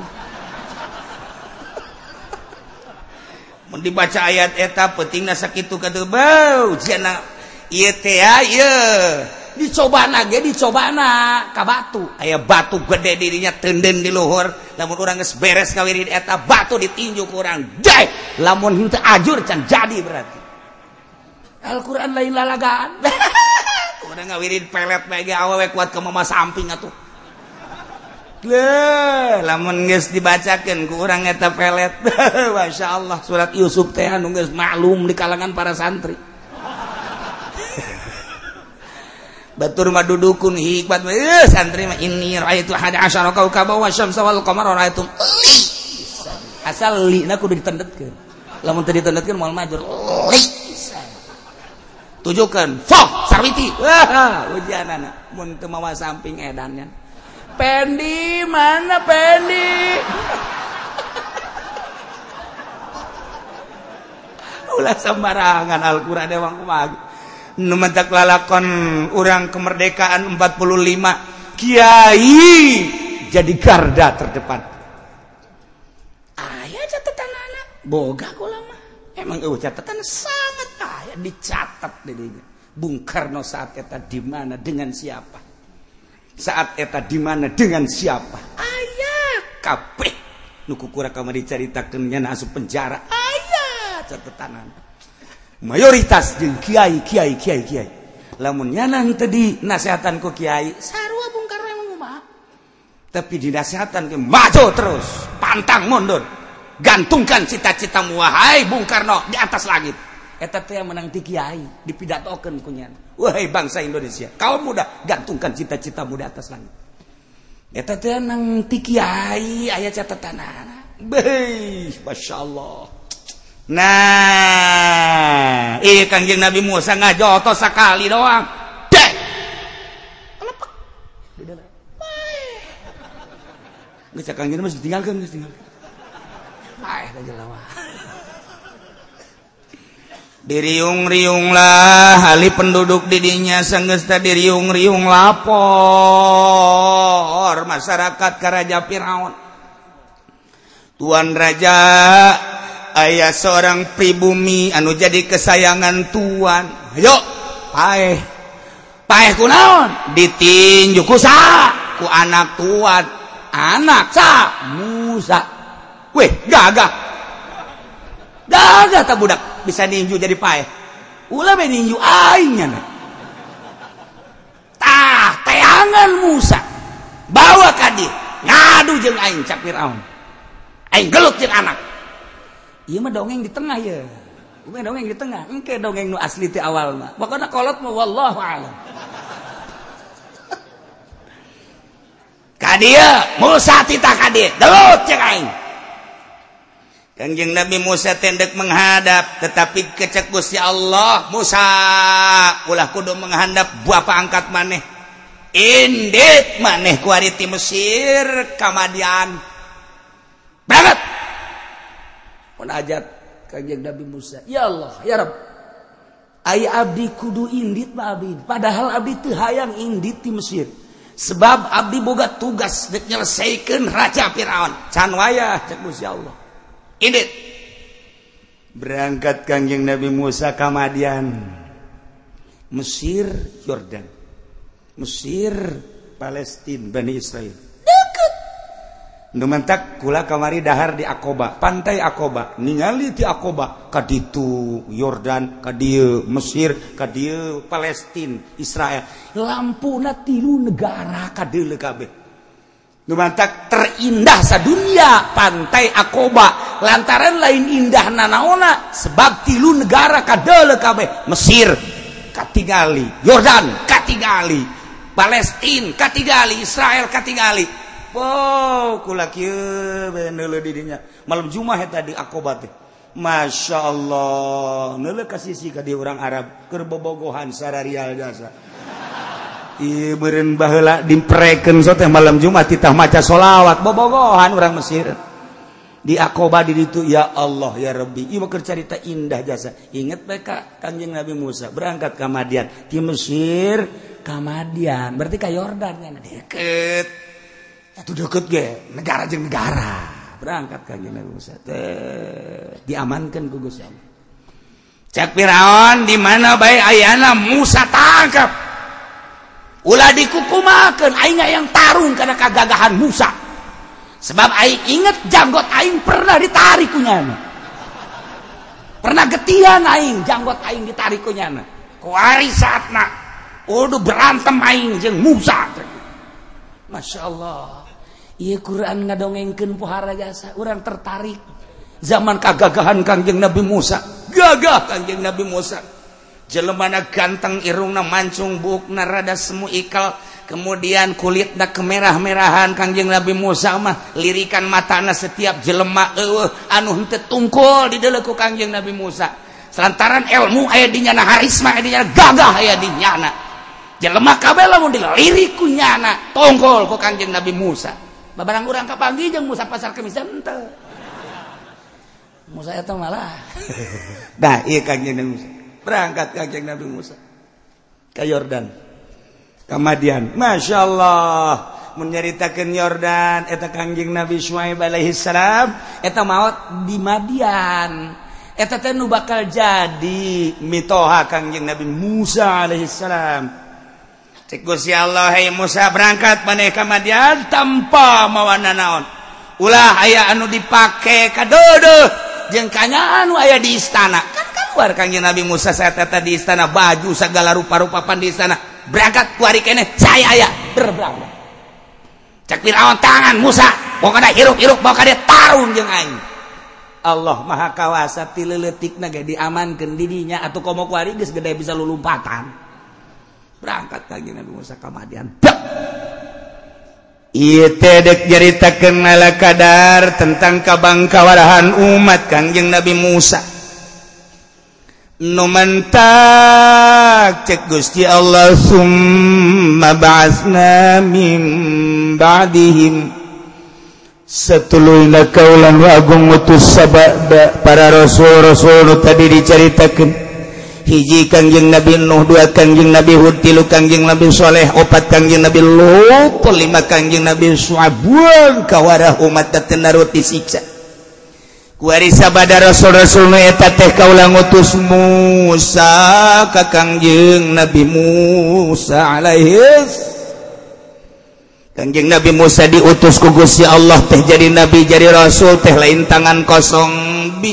Mun dibaca ayat eta pentingna sakitu ka teu bau, cenah ieu teh dicobana ka batu aya batu gede dirinya teunden di luhur lamun urang geus beres ngawirid eta batu ditinju ku urang jai lamun henteu ajur can jadi berarti Al-Qur'an lain lalagaan urang ngawirid pelet bae ge awewe kuat ke mama samping atuh lamun geus dibacakeun ku urang eta pelet masyaallah surat Yusuf teh anu geus maklum di kalangan para santri batur mah dudukun hikmat santri mah inni raaitu 11 kaukaba wasyamsa wal qamara raaitu asal lina kudu ditendetkeun lamun teu ditendetkeun moal majur tujukeun fok sarwiti ujianana mun teu mawa samping edannya Pendi mana Pendi ulah sembarangan Al-Qur'an emang kumaha numantak lalakon urang kemerdekaan 45 kiai jadi garda terdepan aya catatan anak boga kula mah emang catatan sangat aya dicatat di dieu Bung Karno saat eta di mana dengan siapa saat eta di mana dengan siapa aya kabeh nu kukura kamari dicaritakeun nya asup penjara aya catatan mayoritas jeung kiai lamun nyana teu dinasehatan ku kiai sarua Bung Karno emang kumaha tapi dinasehatan ke maju terus pantang mundur gantungkan cita-citamu wahai Bung Karno di atas langit eta teh menang ti kiai dipidatokeun ku nyana wahai bangsa Indonesia kaum muda gantungkan cita-citamu di atas langit eta teh nang ti kiai aya catatanana beuh masyaallah. Nah, Kangjeng Nabi Musa ngajoto sakali doang. Deh. Lepek. Geus Kangjeng Nabi ditinggalkeun, geus tinggalkeun. Bae da jelawa. Diriung-riunglah ahli penduduk di dinya sanggeus teh diriung-riung lapor masyarakat ka Raja Firaun. Tuan Raja aya seorang pribumi anu jadi kesayangan tuan ayo paeh kunaon ditinju ku saha ku anak tuan anak sa Musa weh gagah ta budak bisa ninju jadi paeh ulah bae ninju aing nya tah teangan Musa bawa ka dieu ngadu jeung aing cak Firaun aing gelut jeung anak ieu mah dongeng di tengah ya. Ieu dongeng di tengah. Engke dongeng nu asli ti awal mah. Pokona kolot mah wallahu a'lam. Ka dieu Musa titah ka dieu. Delut cek aing. Kangjeng Nabi Musa tendek menghadap tetapi kecek Gusti Allah Musa ulah kudu menghadap bapa angkat maneh. Indit maneh ku ari ti Mesir ka Madian. Berangkat munajat Kangjeng Nabi Musa ya Allah ya Rabb aya abdi kudu indit mah abdi padahal abdi teu hayang indit di Mesir sebab abdi boga tugas dek nyelesaikan raja Firaun can wayah cek Gusti Allah indit berangkat Kangjeng Nabi Musa ka Madian Mesir Yordan Mesir Palestina Bani Israel deket nu mentak kula kamari dahar di Aqaba pantai Aqaba ningali ti Aqaba ka ditu Yordan ka dieu Mesir ka dieu Palestina Israel lampuna 3 negara ka deuleu kabeh nu mentak terindah sadunia pantai Aqaba lantaran lain indah nanaona sebab 3 negara ka deuleu kabeh Mesir katingali Yordan katingali Palestina katingali Israel katingali wow, kula kieu neuleuh di dinya. Malam Jumat eta di Aqaba teh. Masyaallah, neuleuh ka sisi ka di urang Arab keur bobogohan sararial jasa. Ieu meureun baheula dimprekeun so teh malam Jumat titah maca sholawat bobogohan urang Mesir. Di Aqaba di ditu ya Allah ya Rabbi. Ieu keur carita indah jasa. Inget bae ka Kanjeng Nabi Musa berangkat ka Madian ti Mesir ka Madian. Berarti ka Yordan nya deket. Itu deket ge negara jeung negara berangkat Kanjeng Nabi Musa diamankan ku Gusti Allah cek Firaun di mana bae ayana Musa tangkap ulah dikukumakeun aing yang tarung karena kagagahan Musa sebab aing inget janggot aing pernah ditarik ku nyana pernah getian aing janggot aing ditarik ku nyana kuari saatna udah berantem aing jeung Musa Masya Allah iya Quran ngadongengkeun pohara jasa urang tertarik zaman kagagahan Kangjeng Nabi Musa gagah Kangjeng Nabi Musa jelemana ganteng irungna mancung buukna rada semu ikal kemudian kulitna kemerah-merahan Kangjeng Nabi Musa mah lirikan matana setiap jelema anu henteu tungkul di deuleu ku Kangjeng Nabi Musa selantaran ilmu aya di nyana harisma aya di nyana gagah aya di nyana jelema kabeh lamun dilirik ku nyana tungkul ku Kangjeng Nabi Musa babarang urang kapanggi jeung Musa pasar Kemis henteu. Musa eta malah. Nah, ieu Kangjeng Nabi Musa. Berangkat Kangjeng Nabi Musa ka Yordan. Ka Madian. Masyaallah. Mun nyaritakeun Yordan eta Kangjeng Nabi Syuaib alaihi salam eta maot di Madian. Eta teh nu bakal jadi mitoha Kangjeng Nabi Musa alaihi salam. Cek Gusti Allah hai Musa berangkat maneh ka Madian tanpa mawa nanaon. Ulah aya anu dipake kadeudeut jeung kanya anu aya di istana. Kan keluar Kangjeng Nabi Musa saat eta di istana baju segala rupa-rupa pan di istana. Berangkat kuari keneh saya aya berberangkat. Cek Firaun tangan Musa, pokona hirup-hirup bawa ka dieu tarung jeung aing. Allah Maha Kawasa ti leuleutikna ge diamankeun di dinya atuh komo kuari geus gede bisa lulumpatan. Berangkat Kangjeng Nabi Musa ka Madian. Ieu teh dek nyaritakeun ala kadar tentang kabangkawarahan umat Kangjeng Nabi Musa. Nu mentak cek Gusti Allah summa ba'atsna min ba'dihim satuluina kaulan wa agung utus sabada para rasul-rasul nu tadi dicaritakeun. Hiji Kangjeng Nabi Nuh, 2 Kangjeng Nabi Hud, 3 Kangjeng Nabi Soleh, 4 Kangjeng Nabi Lut, 5 Kangjeng Nabi Syuaib kawarah umat teh narut disiksa. Kuari sabada rasul-rasul nu eta teh kaula ngutus Musa ka Kangjeng Nabi Musa alaihi Kangjeng Nabi Musa diutus ku Gusti Allah teh jadi nabi jadi rasul teh lain tangan kosong bi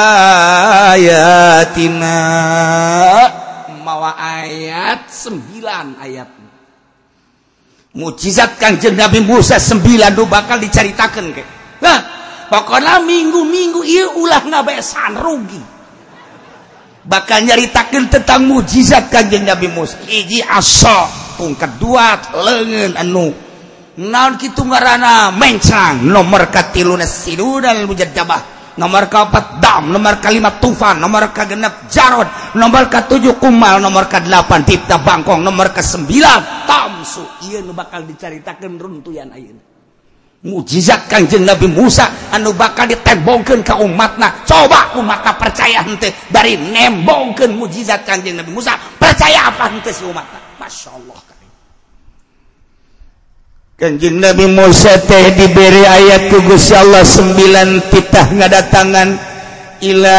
ayatina mawa ayat 9 ayat mukjizat Kangjeng Nabi Musa 9 nu bakal dicaritakeun ke nah pokona minggu-minggu ieu ulah ngabesan rugi bakal nyaritakeun tentang mukjizat Kangjeng Nabi Musa hiji asa pungkat 2 leungeun anu naon kitu ngaranna mencang nomor katiluna sidudal mujaddabah nomor ka-4 dam nomor ka-5 tufan nomor ka-6 jarod nomor ka-7 kumal nomor ka-8 tipta bangkong nomor ka-9 tamsu ieu nu bakal dicaritakeun runtuyan ayeuna mukjizat Kangjeng Nabi Musa anu bakal ditembongkeun ka umatna coba umatna percaya henteu bari nembongkeun mukjizat Kangjeng Nabi Musa percaya apa henteu si umatna masyaallah. Kanjeng Nabi Musa teh diberi ayat ku Gusti Allah 9 titah ngadatangan ila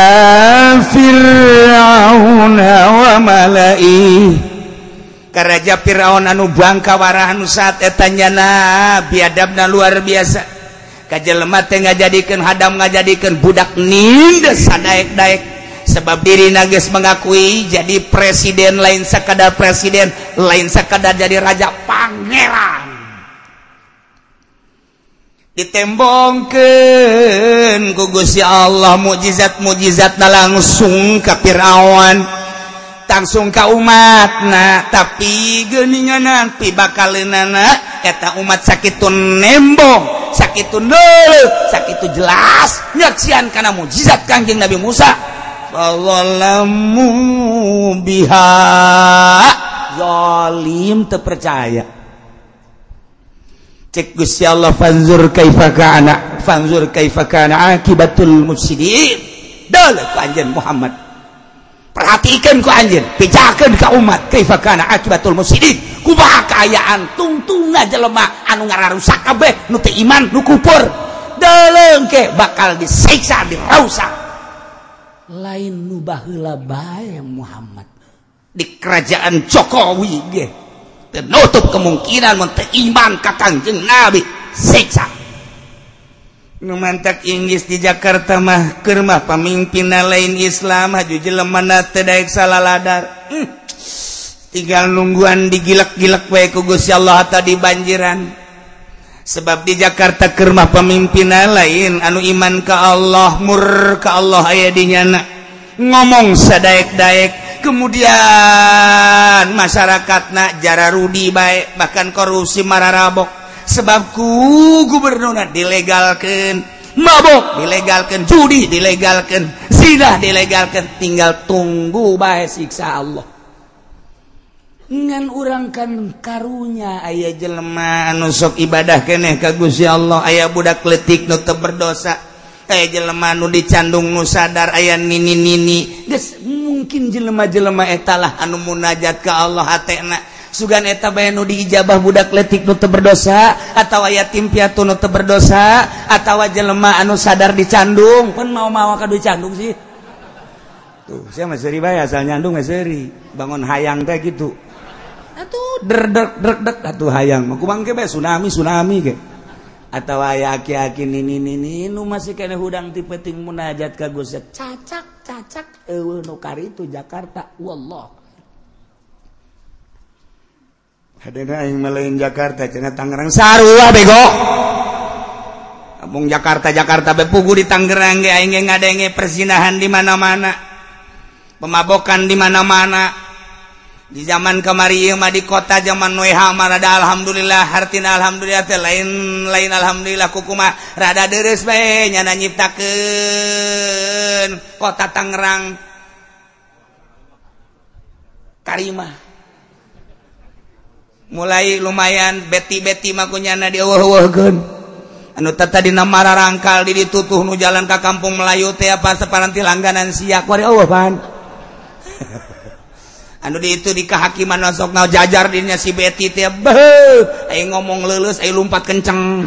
fir'auna wa mala'i ka raja Firaun anu bangka warah anu saat eta nyana biadabna luar biasa ka jelema teh ngajadikeun hadam ngajadikeun budak nindes sadaek-daek sebab dirina geus mengakui jadi presiden lain sakadar presiden lain sakadar jadi raja pangeran ditembongkeun ku Gusti Allah mukjizat-mukjizatna langsung ka Firaun langsung ka umatna tapi geuningan pi bakaleunana eta umat sakitu nembong sakitu deuleu sakitu jelas nyaksian kana mukjizat Kanjeng Nabi Musa sallallahu biha zalim teu percaya cek Gusti Allah fanzur kaifa kana akibatul mufsidin dalam ku anjeun Muhammad perhatikan ku anjeun pijakeun ka umat kaifa kana akibatul mufsidin kumaha kaayaan tungtungna jelema anu ngararusak kabeh nu teu iman nu kufur deuleuh ke bakal disiksa dirausak lain nu baheula bae Muhammad di kerajaan Jokowi ge ternutup kemungkinan menteu iman ka Kanjeng Nabi siksa nu mantak Inggris di Jakarta mah keur mah pamimpinna lain Islam haju jelemana teu daek salaladar tinggal nungguan digilak-gilak wae ku Gusti Allah tadi banjiran sebab di Jakarta keur mah pamimpinna lain anu iman ka Allah mur ka Allah aya di nyana ngomong sadaek-daek kemudian masyarakatna jara rudi baik bahkan korupsi mararabok sebab ku gubernurna dilegalkeun mabok dilegalkeun judi dilegalkeun zina dilegalkeun tinggal tunggu bae siksa Allah ngan urang kan karunya aya jelema anu sok ibadah keneh ka Gusti Allah aya budak leutik nu teu berdosa aya jelema nu dicandung nu sadar aya nini-nini geus mungkin jelema-jelema eta lah anu munajat ka Allah hatena sugan eta bae nu diijabah budak leutik nu teu berdosa atawa yatim piatu nu teu berdosa atawa jelema anu sadar dicandung pun mau-mau ka dicandung sih tuh sia mah seuri bae asal nyandung mah seuri bangun hayang teh kitu atuh derdek atuh hayang mah kumang ge bae tsunami ge atawa aya aki-aki nini nu masih keneh hudang ti penting munajat ka Gusti cacak eueuh nu karitu Jakarta wallah hadena aing maleun Jakarta cenah Tangerang sarua bego abung Jakarta be pugu di Tangerang ge aing ge ngadenge persinahan di mana-mana pemabokan di mana-mana di zaman kamari ieu mah di kota zaman Noeha mah rada alhamdulillah hartina alhamdulillah teh lain alhamdulillah kumaha rada deres bae nyana nyiptakeun kota Tangerang karimah mulai lumayan beti-beti mah kunyana dieueuh-eueuhkeun anu tata dina mararangkal di ditutuh nu jalan ka Kampung Melayu teh apa saparanti langganan sia ku ari eueuh pan anu di itu di kehakiman masuk nau jajar dirinya si Betty teh beuh aing ngomong leuleus aing lumpat kenceng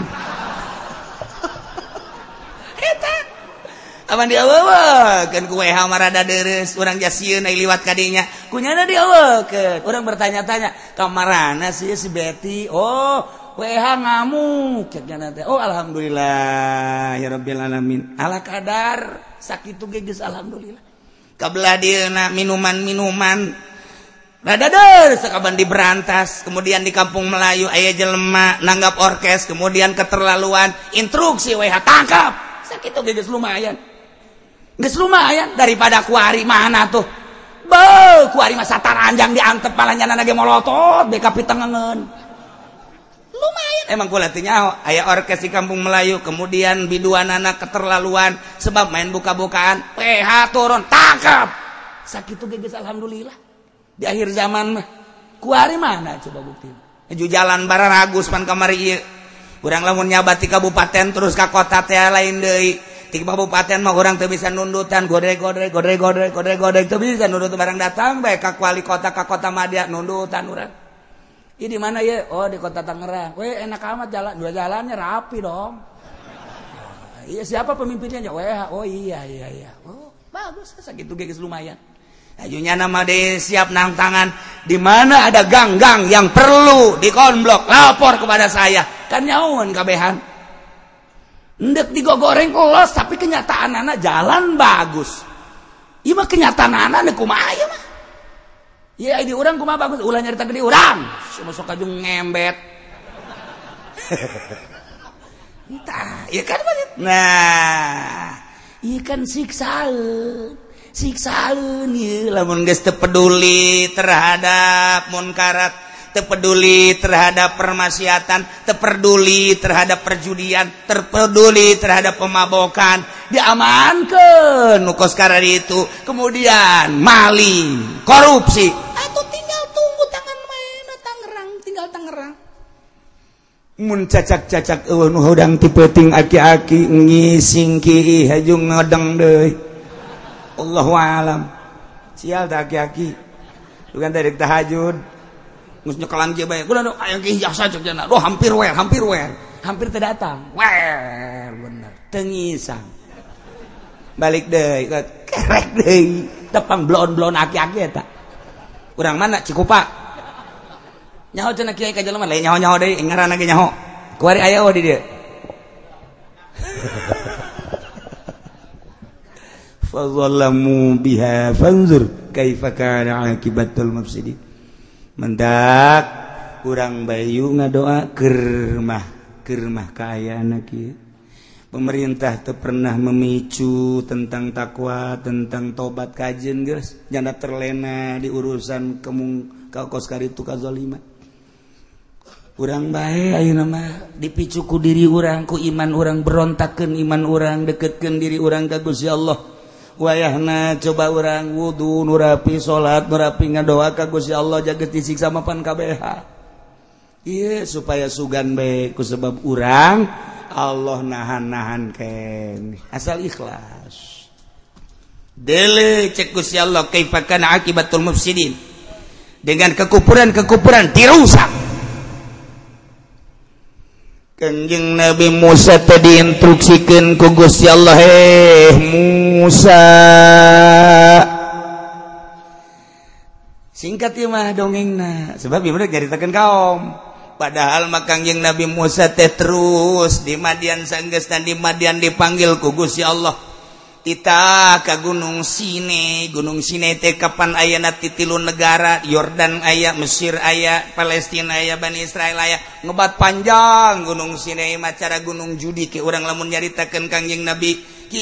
eta aman dieueuhkeun ku WH marada deres urang jasieun aing liwat ka dinya kunyana dieueuhkeun urang bertanya-tanya kamarana si Betty oh WH ngamuk cenah teh oh alhamdulillah ya rabbil alamin ala kadar sakitu ge geus alhamdulillah kabelah dieuna minuman Radader sekaban diberantas kemudian di Kampung Melayu aya jelema nanggap orkes kemudian keterlaluan instruksi WH tangkap sakitu geus lumayan daripada kuari mana tuh beuh kuari mah sataranjang diantep palanyana ge molotot beka pitengengeun lumayan emang kula teh nyaho aya orkes di Kampung Melayu kemudian biduanana keterlaluan sebab main buka-bukaan PH turun tangkap sakitu geus alhamdulillah di akhir zaman mah kuari mana coba bukti menuju jalan Bararagus pan kamari ieu urang lamun nyabat ti kabupaten terus ka kota teh lain deui ti kabupaten mah urang teu bisa nundutan godreg teu bisa nundut barang datang bae ka wali kota ka kota Madya nundutan urang Ini di mana ya? Oh, di Kota Tangerang. Weh, enak amat dua jalannya rapi dong. Iya, siapa pemimpinnya? Oh iya. Oh, bagus, segitu guys lumayan. Ajunya nama deh siap nang tangan. Di mana ada gang-gang yang perlu dikonblok, lapor kepada saya. Kan nyawan kabehan. Ndek digogoreng los, tapi kenyataan anak jalan bagus. Iya mah kenyataan anak kumaha ya mah. Ya di urang kumaha bagus, ulah nyarita ke di urang. Sok kajung ngembet. Entah, ya kan banget. Nah, ikan siksaan ya, lamun geus teu peduli terhadap munkarat, teu peduli terhadap permaksiatan, teu peduli terhadap perjudian, teu peduli terhadap pemabokan, diamankeun nu kos karari itu, kemudian maling, korupsi, atuh tinggal tunggu tangan maena Tangerang. Mun cacak-cacak eueuh nu hodang ti peuting aki-aki ngising kieu hajung ngodeng deui. Allahu a'lam. Sial teh aki-aki. Bukan teh deuk tahajud. Geus nyekelan kieu bae. Kunaon aya ki jasa cek cenah. Doh hampir we. Hampir teh datang. Bener. Teu ngisang. Balik deui, kerek deui. Tepang blon-blon aki-aki eta. Urang mana Cikupa? Nyaho cenah kiai ka jelema lain nyaho-nyaho deui ngaranna ge nyaho. Kuari aya di dieu. Fadzallamu biha fanzur kaifa kana akibatul mufsidin. Mendak urang bayu ngadoa keur kaayana kieu. Pemerintah teu pernah memicu tentang takwa, tentang tobat kajen geus, janda terlena di urusan kemung kaos karitu kazaliman. Urang bae ayeuna mah dipicu ku diri urang, ku iman urang, berontakeun iman urang, deketkeun diri urang ka Gusti Allah. Wayahna coba urang wudu nu rapi, salat nu rapi, ngadoa ka Gusti Allah jaga disiksa mapan KBH. Ieu supaya sugan bae ku sebab urang Allah nahan keneh. Asal ikhlas. Dele cek Gusti Allah kaifa kana akibatul mufsidin. Dengan kekufuran dirusak. Kanjeng Nabi Musa tadi instruksikeun ku Gusti Allah, Musa. Singkat ieu mah dongengna, sebab ieu mah nyaritakeun kaum. Padahal mah Kanjeng Nabi Musa teh terus di Madian sanggeusna di Madian dipanggil ku Gusti Allah. Kita ka Gunung Sinai teh kapan ayana ti 3 negara, Yordan aya, Mesir aya, Palestina aya, Bani Israil aya, ngebat panjang Gunung Sinai macara gunung judi ke urang lamun nyaritakeun Kanjeng Nabi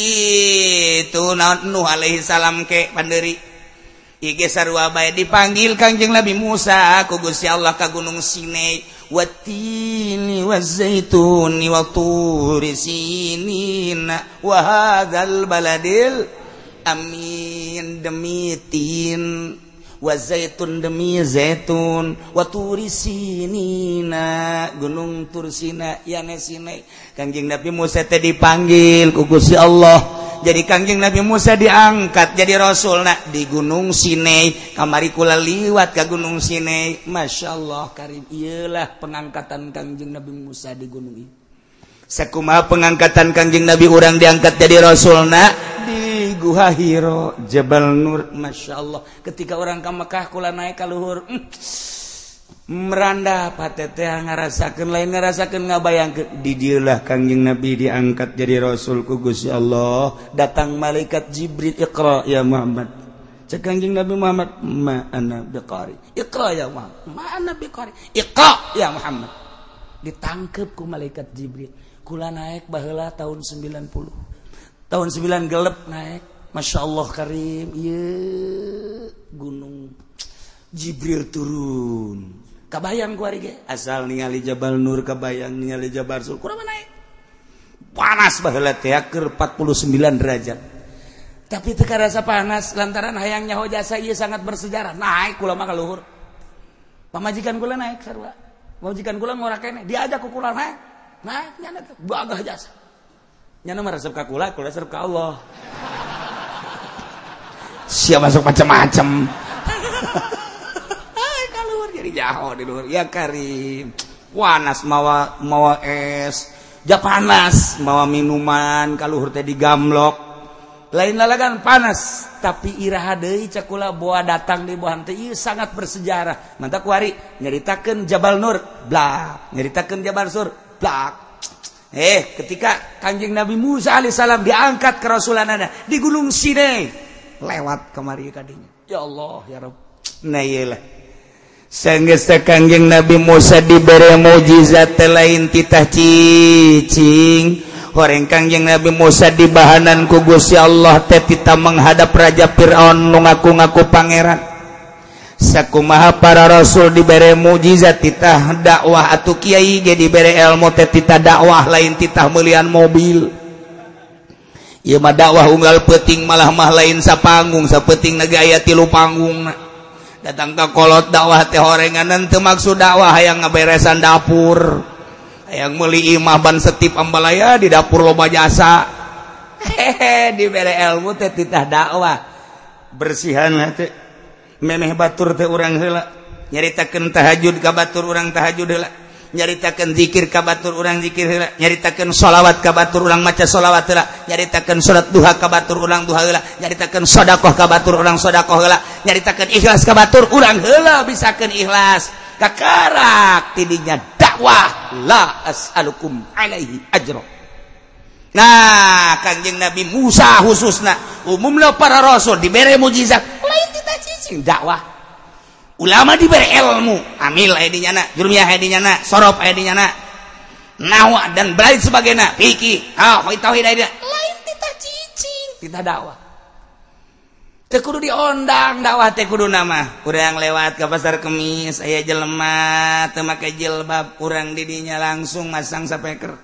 kitu naon Nuh alaihi salam ke pandeuri. Ige sarua bae dipanggil Kanjeng Nabi Musa ku Gusti Allah ka Gunung Sinai. Wattini wazaituni wa turi sinina wa hadzal baladil amin demi tin wa zaitun demi zaitun wa turi sinina gunung Tursina yana Sinai. Kanjeng Nabi Musa teh dipanggil ku Gusti Allah. Jadi Kanjeng Nabi Musa diangkat jadi rasulna di Gunung Sinai. Kamari kula liwat ke Gunung Sinai. Masya Allah karim. Iyalah pengangkatan Kanjeng Nabi Musa di gunung ini. Sakumaha pengangkatan Kanjeng Nabi orang diangkat jadi rasulna di Guha Hiro Jabal Nur. Masya Allah. Ketika orang ke Mekah kula naik ka luhur. Meranda patete ngarasakeun lain ngarasakeun ngabayangkeun di dieulah Kanjeng Nabi diangkat jadi rasul ku Gusti Allah. Datang malaikat Jibril, Iqra ya Muhammad. Cek Kanjeng Nabi Muhammad, ma ana biqari. Iqra ya Muhammad. Ma ana biqari. Iqra ya Muhammad. Ditangkep ku malaikat Jibril. Kula naik baheula tahun 90. Tahun 9 gelep naik. Masya Allah karim. Ieu gunung Jibril turun. Kabayang kuari ge asal ningali Jabal Nur, kabayang ningali Jabal Sur, kumaha naik panas baheula teh keur 49 derajat. Tapi teu karasa panas lantaran hayang nyaho jasa ieu sangat bersejarah. Naik kula mah ka luhur. Pamajikan kula naik sarua. Pamajikan kula ngora keneh, diajak ku kula naik. Naik nyana teh bagah jasa. Nyana mah resep ka kula resep ka Allah. Siap masuk macam-macam. jaho di luhur ya Karim panas mawa es ja panas mawa minuman kaluhur teh digamlok lain lalagan panas tapi iraha deui cakula boa datang di bohan teh ieu sangat bersejarah mantap kuari nyaritakeun Jabal Nur blak nyaritakeun Jabal Sur blak ketika Kanjeng Nabi Musa alaihissalam diangkat ke Rasulanana di Gunung Sinai lewat kemari kadinya ya Allah ya Rabb nah iyalah sanggeus Kanjeng Nabi Musa dibere mukjizat lain titah cicing horeng Kanjeng Nabi Musa dibahanan ku Gusti Allah teh tita menghadap Raja Firaun nu ngaku-ngaku pangeran sakumaha para rasul dibere mukjizat titah dakwah atuh kiai ge dibere ilmu teh titah dakwah lain titah meuliean mobil ieu mah dakwah unggal peuting malah lain sapanggung sapeuting negaya 3 panggungna datang ka kolot dakwah teh horenganan teu maksud dakwah hayang ngaberesan dapur hayang meuli imah ban setip ambalaya di dapur loba jasa dibere ilmu teh titah dakwah bersihan teh memeh batur teh urang heula nyaritakeun tahajud ka batur urang tahajud heula nyaritakeun zikir ka batur urang zikir heula nyaritakeun sholawat ka batur urang maca sholawat heula nyaritakeun salat duha ka batur urang duha heula nyaritakeun sedekah ka batur urang sedekah heula nyaritakeun ikhlas ka batur urang heula bisakeun ikhlas kakarak tidinya dakwah la as'alukum alaihi ajra. Nah Kanjeng Nabi Musa khususna umumna para rasul dibere mukjizat lain tita cicing dakwah ulama dibere ilmu amil aya dinyana jurmiyah aya dinyana sorof aya dinyana nahwa dan lain sebagainya fikih tauhid aya lain tita cicing tita dakwah teu kudu diondang dakwah teh kudu nama urang lewat ka pasar Kemis aya jelema teu make jilbab urang di dinya langsung masang sapeker.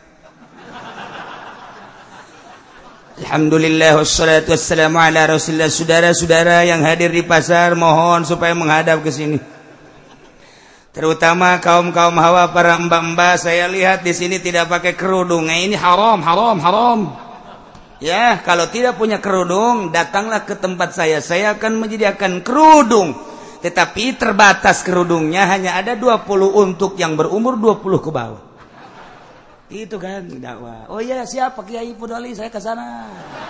Alhamdulillah wassalatu wassalamu ala Rasulillah. Saudara-saudara yang hadir di pasar mohon supaya menghadap ke sini. Terutama kaum-kaum hawa para mbak-mbak saya lihat di sini tidak pakai kerudung. Nah, ini haram. Ya, kalau tidak punya kerudung datanglah ke tempat saya. Saya akan menyediakan kerudung. Tetapi terbatas kerudungnya hanya ada 20 untuk yang berumur 20 ke bawah. Itu kan dakwah. Oh iya siap Pak Kiai Pudali saya ke sana.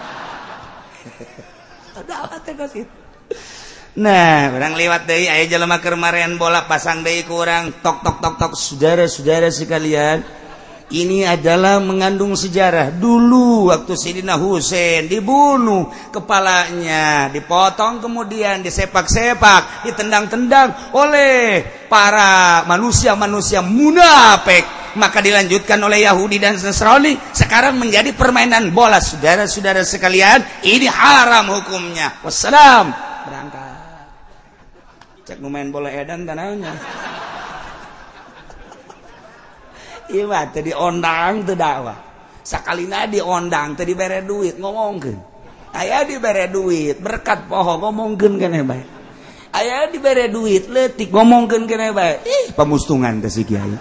Dakwah teh ka situ. Nah, urang liwat deui aya jelema keur marean bola pasang deui ku urang tok. Saudara-saudara sekalian, ini adalah mengandung sejarah. Dulu waktu Sayyidina Husain dibunuh, kepalanya dipotong kemudian disepak-sepak, ditendang-tendang oleh para manusia-manusia munafik. Maka dilanjutkan oleh Yahudi dan Nasrani sekarang menjadi permainan bola. Saudara-saudara sekalian, ini haram hukumnya. Wassalam. Berangkat cek main bola edan tanahnya iya mah tadi ondang teu dakwah sakalina diondang teu dibere duit ngomongkeun aya dibere duit berkat poho ngomongkeun keneh bae aya dibere duit leutik ngomongkeun keneh bae pamustungan teh si kiai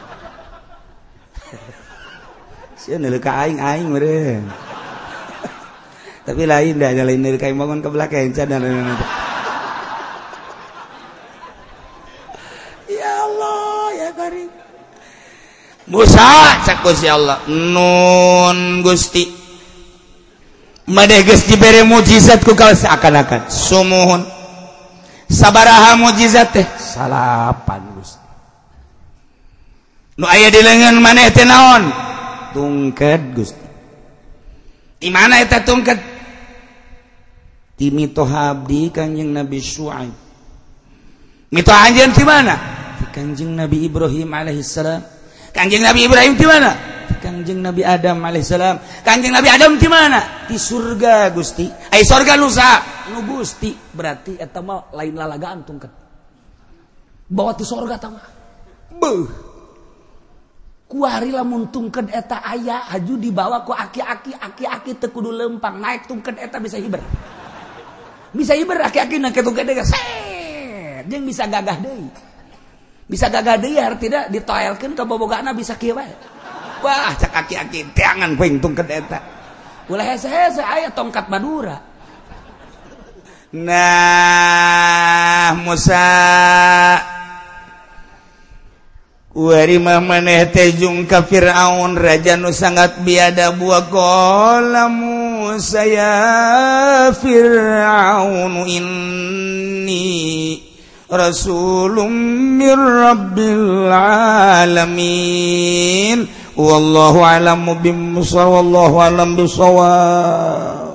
sia neuleuh ka aing meureun tapi lain dah lain neuleuh ka bangun ke belakang can Musa cak Gusti Allah nun Gusti madeh geus dibere mukjizat ku kaos seakan-akan sumuhun sabaraha mukjizat teh 8 Gusti nu aya di leungeun maneh teh naon tungked Gusti di mana eta tungked ti mitoh abdi Kanjeng Nabi Syuaib mitoh anjeun ti mana ti Kanjeng Nabi Ibrahim alaihissalam. Kanjeng Nabi Ibrahim di mana? Kanjeng Nabi Adam alaihissalam. Kanjeng Nabi Adam di mana? Di surga Gusti. Ai surga nusa nu Gusti berarti eta mah lain lalagaan tungked. Bawa ti surga tah mah. Beuh. Kuari lamun tungked eta aya haju dibawa ku aki-aki teu kudu lempang naik tungked eta bisa hiber. Bisa hiber aki-aki naik tungked eta set. Jeung bisa gagah deui. Bisa gagah deui artina ditoelkeun ka bobogana bisa kieu bae. Wah, cak aki-aki teangan poing tungked eta. Ulah hese-hese aya tongkat Madura. Nah, Musa warima maneh tejung ka Fir'aun raja nu sangat biada buah qalamu saya Fir'aun inni rasulun mir rabbil alamin wallahu a'lam bisawab.